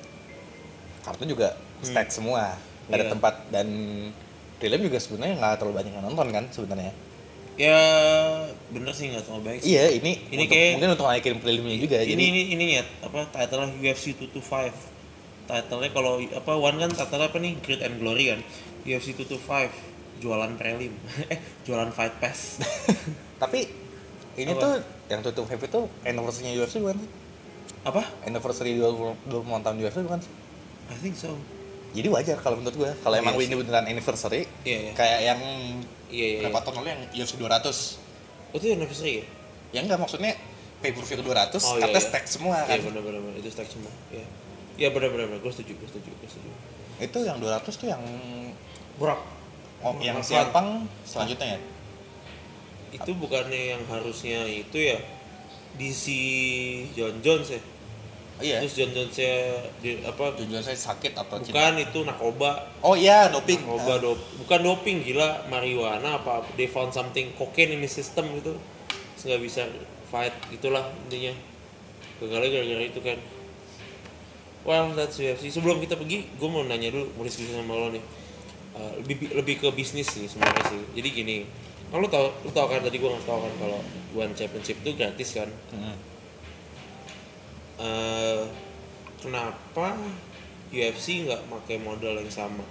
kartu juga stack semua, nggak ada Iya. tempat, dan prelim juga sebenarnya nggak terlalu banyak yang nonton kan sebenarnya. Ya bener sih, nggak terlalu baik sih. Iya, ini Ini untuk- kayak- mungkin untuk naikin prelimnya juga. Ini jadi ini ini ya apa title U F C two twenty-five. Title-nya kalau apa One kan title apa nih? Great and Glory kan. U F C two twenty-five jualan prelim. eh, jualan fight pass. tapi ini Apa? tuh yang tutup Five itu anniversary-nya U F C bukan sih? apa? Anniversary dua puluh tahun U F C bukan sih? I think so. Jadi wajar kalau menurut gue. Kalau Iya emang sih. ini beneran anniversary, Iya, iya. kayak yang Iya iya. berapa iya. tahun lalu yang U F C dua ratus. Oh, itu anniversary ya? Ya enggak, maksudnya pay per view dua ratus, Oh, iya, katanya iya. stack semua kan. Iya benar benar benar. Itu stack semua. Iya. Iya benar benar benar. Gue setuju, gue setuju, gue setuju. Itu yang dua ratus tuh yang Brock. oh, yang Brock siapang selanjutnya ya. Itu bukannya yang harusnya itu ya D C John Jones ya? Oh, iya. Terus John Jones nya di apa? Tujuan saya sakit atau Bukan, itu narkoba. Oh iya, doping. Narkoba Ah. dop, bukan doping, gila, marijuana apa? They found something cocaine in the system gitu, terus nggak bisa fight, itulah intinya. Gagalnya gara-gara itu kan. Well, that's U F C. Sebelum kita pergi, gue mau nanya dulu, mau diskusi sama lo nih. Uh, lebih lebih ke bisnis sih sebenarnya sih. Jadi gini, kan lo tau, lo tau kan tadi gue nggak tau kan kalau One Championship itu gratis kan. Hmm. uh, kenapa U F C nggak pakai model yang sama?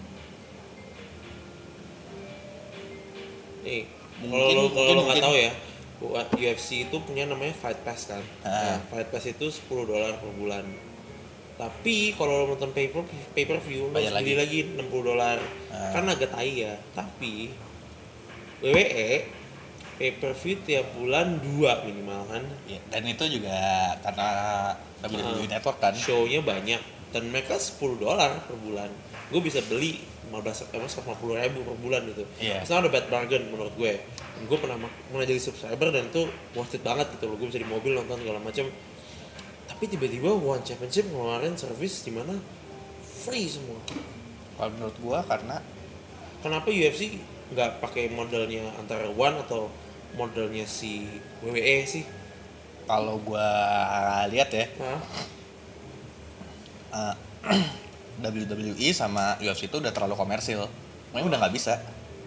Nih, kalau lo kalau lo nggak tahu ya, U F C itu punya namanya Fight Pass kan. Ah. Nah, Fight Pass itu sepuluh dolar per bulan. Tapi kalau lo nonton pay per pay per view lo harus beli lagi enam puluh dolar. Ah. Kan agak tai ya. Tapi W W E pay per view tiap bulan dua minimal kan. Ya, dan itu juga karena W W E Ah. Network kan. Show-nya banyak dan mereka sepuluh dolar per bulan. Gue bisa beli lima belas eh lima puluh ribu per bulan gitu. Iya. It's not a bad bargain menurut gue. Gue pernah pernah jadi subscriber dan itu worth it banget gitu loh. Gue bisa di mobil nonton segala macam. Tapi tiba-tiba One Championship ngeluarin service di mana free semua. Kalau menurut gua karena Kenapa U F C nggak pakai modelnya antara One atau modelnya si W W E sih? kalau gua lihat ya Hah? uh, W W E sama U F C itu udah terlalu komersil. Makanya udah nggak bisa.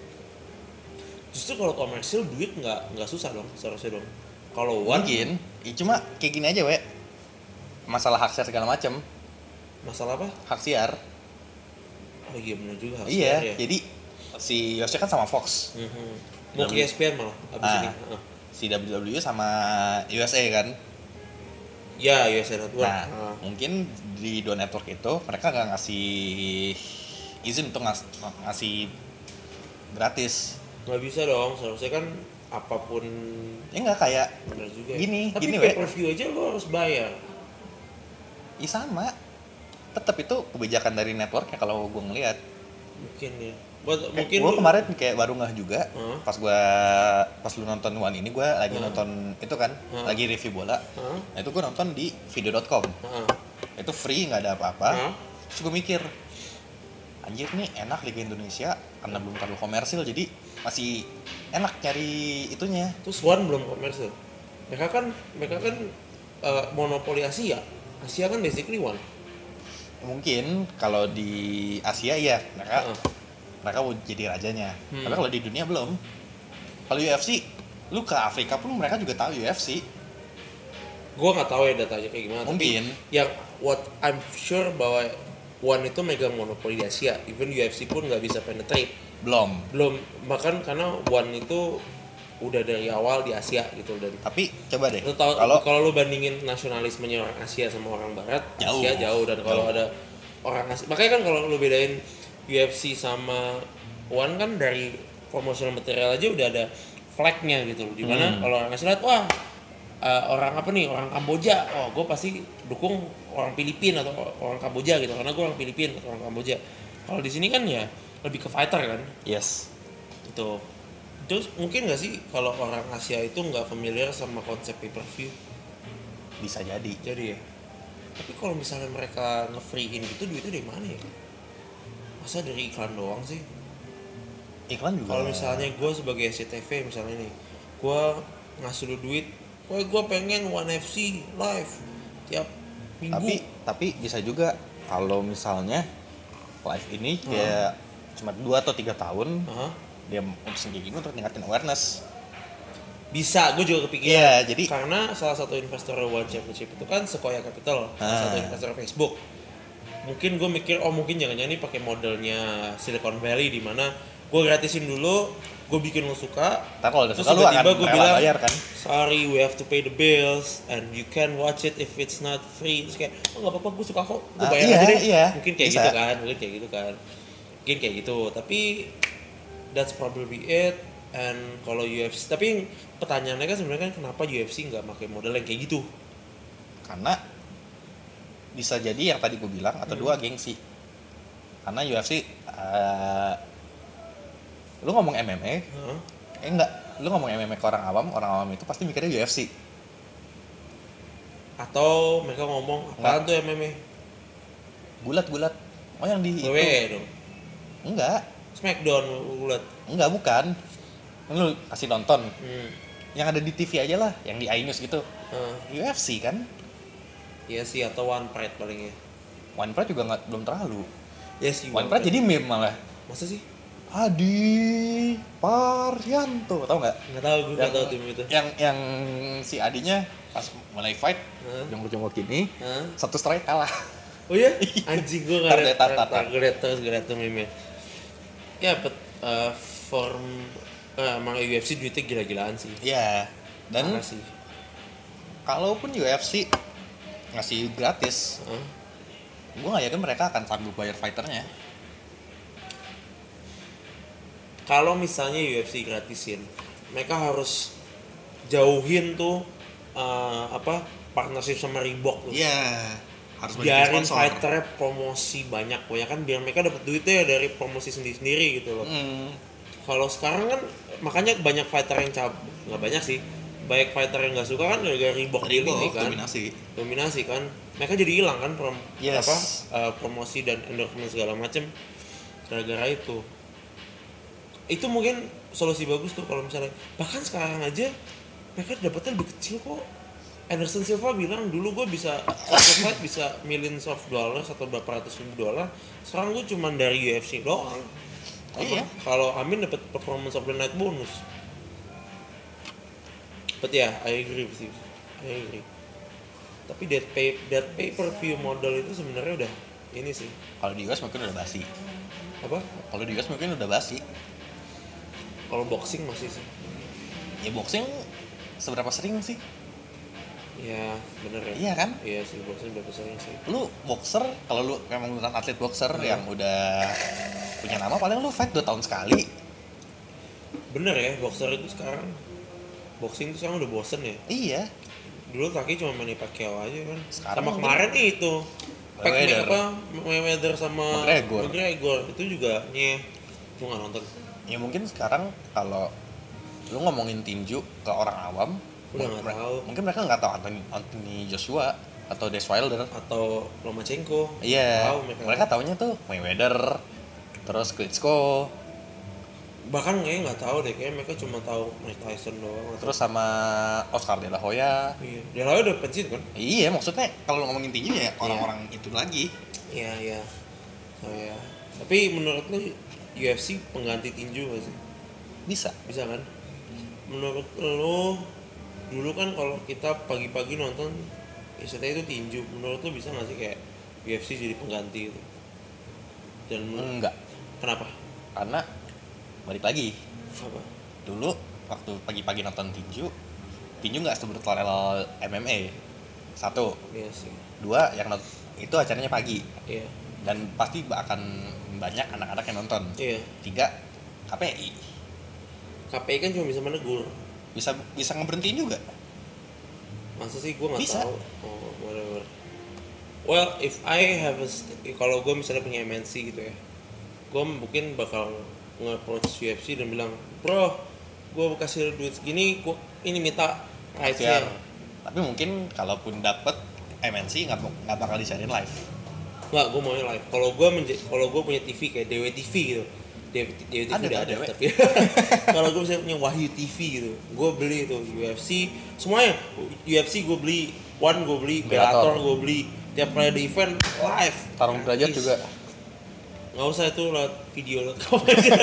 Justru kalau komersil duit nggak nggak susah dong seharusnya dong. Kalau One Mungkin, ya cuma kayak gini aja, we. Masalah hak siar segala macam, masalah apa? hak siar. Oh iya benar juga. harus Iya, bayar ya. jadi si U F C kan sama Fox. Mhm. Mau ke E S P N malah abis Ah. ini. Ah. Si W W E sama U S A kan. Ya, U S A Network. Nah, Ah. mungkin di dua network itu mereka nggak ngasih izin untuk ngas- ngasih gratis. Nggak bisa dong, seharusnya kan apapun Ya nggak kayak benar juga. Gini, ya. Tapi gini, pay we. per view aja lo harus bayar. ya sama. Tetap itu kebijakan dari networknya kalau gue ngelihat. Mungkin ya. Buat, Kayak mungkin gue lu- kemarin kayak baru ngeh juga. Hah? Pas gue pas lu nonton One ini gue lagi Hah? nonton itu kan, Hah? lagi review bola. Hah? Nah, itu gue nonton di video dot com. Ah. Itu free, nggak ada apa-apa. Hah? Terus gue mikir, anjir nih enak Liga Indonesia karena belum terlalu komersil, jadi masih enak cari itunya. Terus One belum komersil. Mereka kan mereka kan eh, monopoli Asia. Asia kan basically One. Mungkin kalau di Asia iya mereka Heeh. mereka mau jadi rajanya. Hmm. Tapi kalau di dunia belum. Kalau U F C, lu ke Afrika pun mereka juga tahu U F C. Gua nggak tahu ya datanya kayak gimana. Mungkin. Tapi yang what I'm sure bahwa One itu megang monopoli di Asia. Even U F C pun nggak bisa penetrate. Belum. Belum, bahkan karena One itu udah dari awal di Asia gitu dan Tapi coba deh. lu tahu Kalau kalau lu bandingin nasionalismenya orang Asia sama orang Barat, Jauh. Asia jauh dan kalau Jauh. ada orang Asia, makanya kan kalau lu bedain U F C sama One kan dari promotional material aja udah ada flagnya gitu loh, dimana Hmm. kalau orang Asia lihat wah uh, orang apa nih orang Kamboja, oh gue pasti dukung orang Filipina atau orang Kamboja gitu karena gue orang Filipina atau orang Kamboja. Kalau di sini kan ya lebih ke fighter kan. yes. Itu terus mungkin nggak sih kalau orang Asia itu nggak familiar sama konsep pay per view Bisa jadi. jadi ya. Tapi kalau misalnya mereka nge-free-in gitu duitnya dari mana ya? Masa dari iklan doang sih? Iklan juga. Kalau misalnya gue sebagai S C T V misalnya nih, gue ngasih lu duit, gue gue pengen One F C live tiap minggu. tapi tapi bisa juga kalau misalnya live ini kayak cuma dua atau tiga tahun Hah? dia mutusin kayak gini untuk ningkatin awareness. Bisa, gue juga kepikiran. Iya, jadi Karena salah satu investor One Championship itu kan Sequoia Capital, salah Ah. satu investor Facebook. Mungkin gue mikir, oh mungkin jangan-jangan ini pakai modelnya Silicon Valley di mana gue gratisin dulu, gue bikin lo suka. ntar kalau udah Terus suka lu akan tiba-tiba gue rela bilang, bayar kan. sorry we have to pay the bills and you can watch it if it's not free. Terus kayak, oh nggak apa-apa gue suka kok, gue Ah, bayar iya, aja deh. iya, Mungkin kayak bisa. gitu kan, mungkin kayak gitu kan. Mungkin kayak gitu, tapi that's probably it. And kalau U F C, tapi pertanyaannya kan sebenarnya kan kenapa U F C nggak pakai model yang kayak gitu? Karena bisa jadi yang tadi gue bilang atau Hmm. dua gengsi. Karena U F C uh, lu ngomong M M A Hah? eh enggak, lu ngomong M M A ke orang awam, orang awam itu pasti mikirnya U F C. Atau mereka ngomong apaan tuh M M A? Bulat-bulat. Oh yang di W W itu. E dong. Enggak, Smackdown bulat. enggak bukan. Kan lu kasih nonton. Hmm. Yang ada di T V aja lah, yang di iNews gitu. Hah. U F C kan. Iya sih, atau One Pride paling ya. One Pride juga nggak belum terlalu. Iya sih. One Pride jadi meme malah. Masa sih? Adi Parianto, tau nggak? Nggak tahu, gue nggak tahu tim itu. Yang yang si Adinya pas mulai fight, Hah? yang jongkok gini, Hah? satu strike kalah. Oh iya? Anjing gue nggak Tar, liat, tar, tar, tar. gue liat terus, gue liat tuh meme. Ya, but uh, form uh, emang U F C duitnya gila-gilaan sih. Iya. Dan Parah sih. kalaupun U F C ngasih gratis, Huh? gue nggak yakin mereka akan sanggup bayar fighternya. Kalau misalnya U F C gratisin, mereka harus jauhin tuh uh, apa partnership sama Reebok tuh. Iya. Harus banyak Biarin sponsor. fighternya promosi banyak ya kan, biar mereka dapat duitnya dari promosi sendiri-sendiri gitu loh. Hmm. Kalau sekarang kan makanya banyak fighter yang cabut, nggak banyak sih, banyak fighter yang nggak suka kan gara-gara Reebok deal ini Reebok kan, dominasi. dominasi kan, mereka jadi hilang kan prom, Yes. apa uh, promosi dan endorsement segala macem gara-gara itu. Itu mungkin solusi bagus tuh kalau misalnya, bahkan sekarang aja mereka dapatnya lebih kecil kok. Anderson Silva bilang dulu gue bisa satu fight bisa millions of dollars atau berapa ratus ribu dolar, sekarang gue cuma dari U F C doang. Iya. Kalau Amin dapat performance of the night bonus. But ya, yeah, I agree with you. I agree. Tapi that pay that pay per view model itu sebenarnya udah ini sih. Kalau di U S mungkin udah basi. Apa? Kalau di U S mungkin udah basi. Kalau boxing masih sih. Ya boxing seberapa sering sih? Ya, bener ya. Iya kan? Iya sih, boxing udah sering sih. Lu boxer, kalau lu memang beneran atlet boxer Hmm. yang udah punya nama, paling lu fight dua tahun sekali. Bener ya, boxer itu sekarang boxing itu sekarang udah bosen ya. Iya. Dulu kaki cuma main Pacquiao aja kan. Sekarang sama mungkin- kemarin nih itu. Pac Mayweather. apa Mayweather sama McGregor. McGregor itu juga nyeh. Gue nggak nonton. Ya mungkin sekarang kalau lu ngomongin tinju ke orang awam, Udah nggak mereka- tahu. mungkin mereka nggak tahu Anthony, Anthony Joshua atau Des Wilder. Atau Lomachenko. Iya. Tahu mereka. Mereka taunya tuh Mayweather, terus Klitschko, Bahkan kayaknya nggak tahu deh, kayaknya mereka cuma tahu Mike Tyson doang. terus sama Oscar De La Hoya. Iya, dia lalu udah pensiun kan? Iya, maksudnya kalau ngomongin tinju ya orang-orang itu lagi. Iya iya. Oh ya. Tapi menurut lu U F C pengganti tinju nggak sih? Bisa. Bisa kan? Menurut lu dulu kan kalau kita pagi-pagi nonton istilahnya itu tinju, menurut lu bisa nggak sih kayak U F C jadi pengganti itu? Dan menurut- Enggak. kenapa? Karena balik lagi, Apa? dulu waktu pagi-pagi nonton tinju, tinju nggak sebrutal M M A. Satu, Iya sih. dua yang not- itu acaranya pagi Iya. dan pasti akan banyak anak-anak yang nonton. Iya. Tiga, K P I K P I kan cuma bisa menegur. bisa bisa ngeberhentiin juga. Masa sih gue nggak Bisa. tahu. Oh, whatever. Well, if I have a st- kalau gue misalnya punya M N C gitu ya, gue mungkin bakal nge-approach U F C dan bilang, bro, gue kasih duit segini, gue ini minta rights-nya. Siar. Tapi mungkin kalaupun dapet M N C nggak nggak bakal disiarin live. Nggak, gue maunya live. Kalau gue menja- kalau gue punya T V kayak D W T V gitu, D W T V Ada, udah ada, ada, D W. tapi kalau gue misalnya punya Wahyu T V gitu, gue beli itu U F C semuanya. U F C gue beli, One gue beli, Bellator. Bellator gue beli, tiap kali ada event live. Tarung derajat Gratis. juga. Nggak usah itu lewat video lewat kamu aja.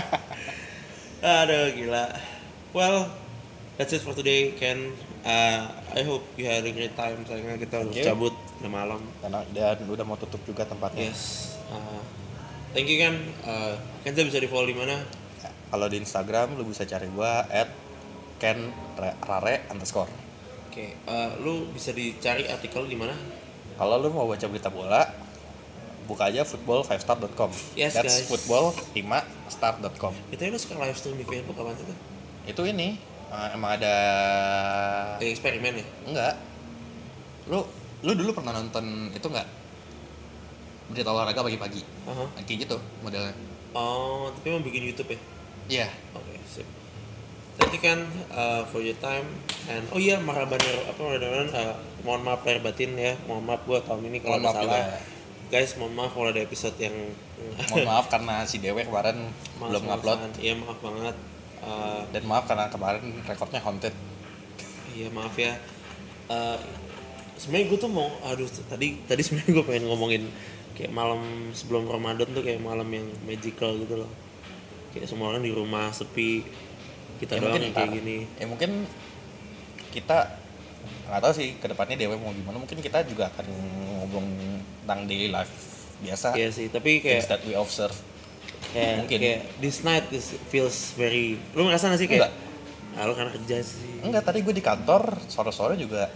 Aduh gila. Well, that's it for today, Ken. Uh, I hope you had a great time. Sayangnya kita harus Thank you. cabut, udah malam. Karena dan udah mau tutup juga tempatnya. Yes. Uh, thank you Ken. Uh, Kenza bisa di follow di mana? Kalau di Instagram lu bisa cari gua at ken rare underscore. Oke. Uh, lu bisa dicari artikel di mana? Kalau lu mau baca berita bola, buka aja football five star dot com. Yes, That's guys. football five star dot com. Itu lu suka live stream di Facebook kapan sih tuh? Itu ini uh, emang ada Kayak eksperimen ya? enggak. Lu lu dulu pernah nonton itu enggak? Berita olahraga pagi-pagi. Aha. Kayak gitu modelnya. Oh, tapi mau bikin YouTube ya? Iya. Oke, sip. Thank you kan uh, for your time and oh iya marhaban apa marhaban uh, mohon maaf lahir batin ya, mohon maaf gua tahun ini kalau Mohon ada maaf salah. juga. Guys, mohon maaf kalau ada episode yang Mohon maaf karena si Dewe kemarin Maaf, belum maaf, ngupload maaf. Iya, maaf banget. Uh, dan maaf karena kemarin rekornya haunted. iya, maaf ya. Uh, sebenarnya gue tuh mau aduh tadi tadi sebenarnya gue pengen ngomongin kayak malam sebelum Ramadan tuh kayak malam yang magical gitu loh. kayak semua orang di rumah sepi, kita Ya, doang mungkin yang kayak ntar. gini. Ya mungkin kita nggak tahu sih kedepannya D W mau gimana. Mungkin kita juga akan ngomong tentang daily life biasa. Iya sih, tapi kayak Things that we observe. kayak, Mungkin. kayak this night this feels very, lu ngerasa gak sih kayak Enggak. ah, lu karena kerja sih. Enggak, tadi gue di kantor sore-sore juga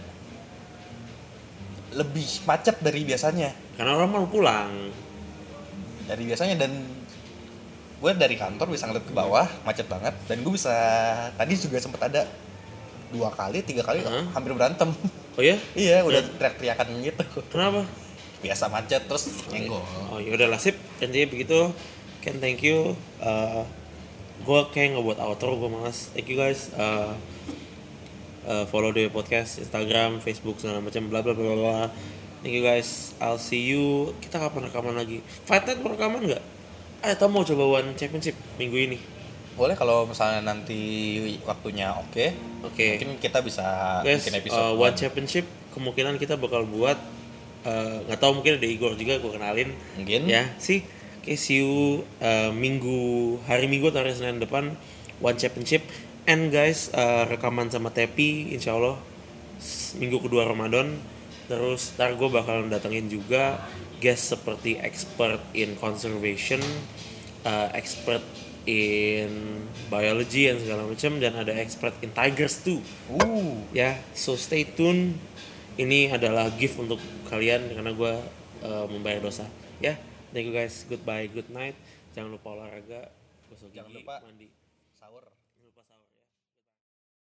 lebih macet dari biasanya. Karena orang mau pulang. Dari biasanya dan gue dari kantor bisa ngeliat ke bawah macet banget dan gue bisa tadi juga sempet ada dua kali tiga kali Hah? hampir berantem. Oh ya? Iya udah teriak-teriakan gitu. Kenapa? Biasa macet terus nyenggol. Oh ya udah lah sip, intinya begitu. Ken, thank you. Uh, gue kayak ngebuat outro, gue malas. Thank you guys. Uh, uh, follow the podcast, Instagram, Facebook segala macam, bla bla bla bla. Thank you guys. I'll see you. Kita kapan rekaman lagi? Fight Night mau rekaman nggak? Eh, atau mau coba One Championship minggu ini? Boleh kalau misalnya nanti waktunya oke. Oke. Mungkin kita bisa Guys, bikin episode uh, One Championship kemungkinan kita bakal buat uh, nggak tahu mungkin ada Igor juga gue kenalin. Mungkin. Ya sih. Oke, see you uh, minggu hari Minggu atau hari Senin depan One Championship. And guys, uh, rekaman sama Tepi insya Allah s- minggu kedua Ramadan. Terus ntar gue bakalan datengin juga guest seperti expert in conservation, uh, expert in biology dan segala macam, dan ada expert in tigers too. Uh, Ya, so stay tune. Ini adalah gift untuk kalian karena gue uh, membayar dosa. Ya, thank you guys. Goodbye, good night. Jangan lupa olahraga, gosok Jangan gigi, lupa mandi. sahur. Jangan lupa sahur.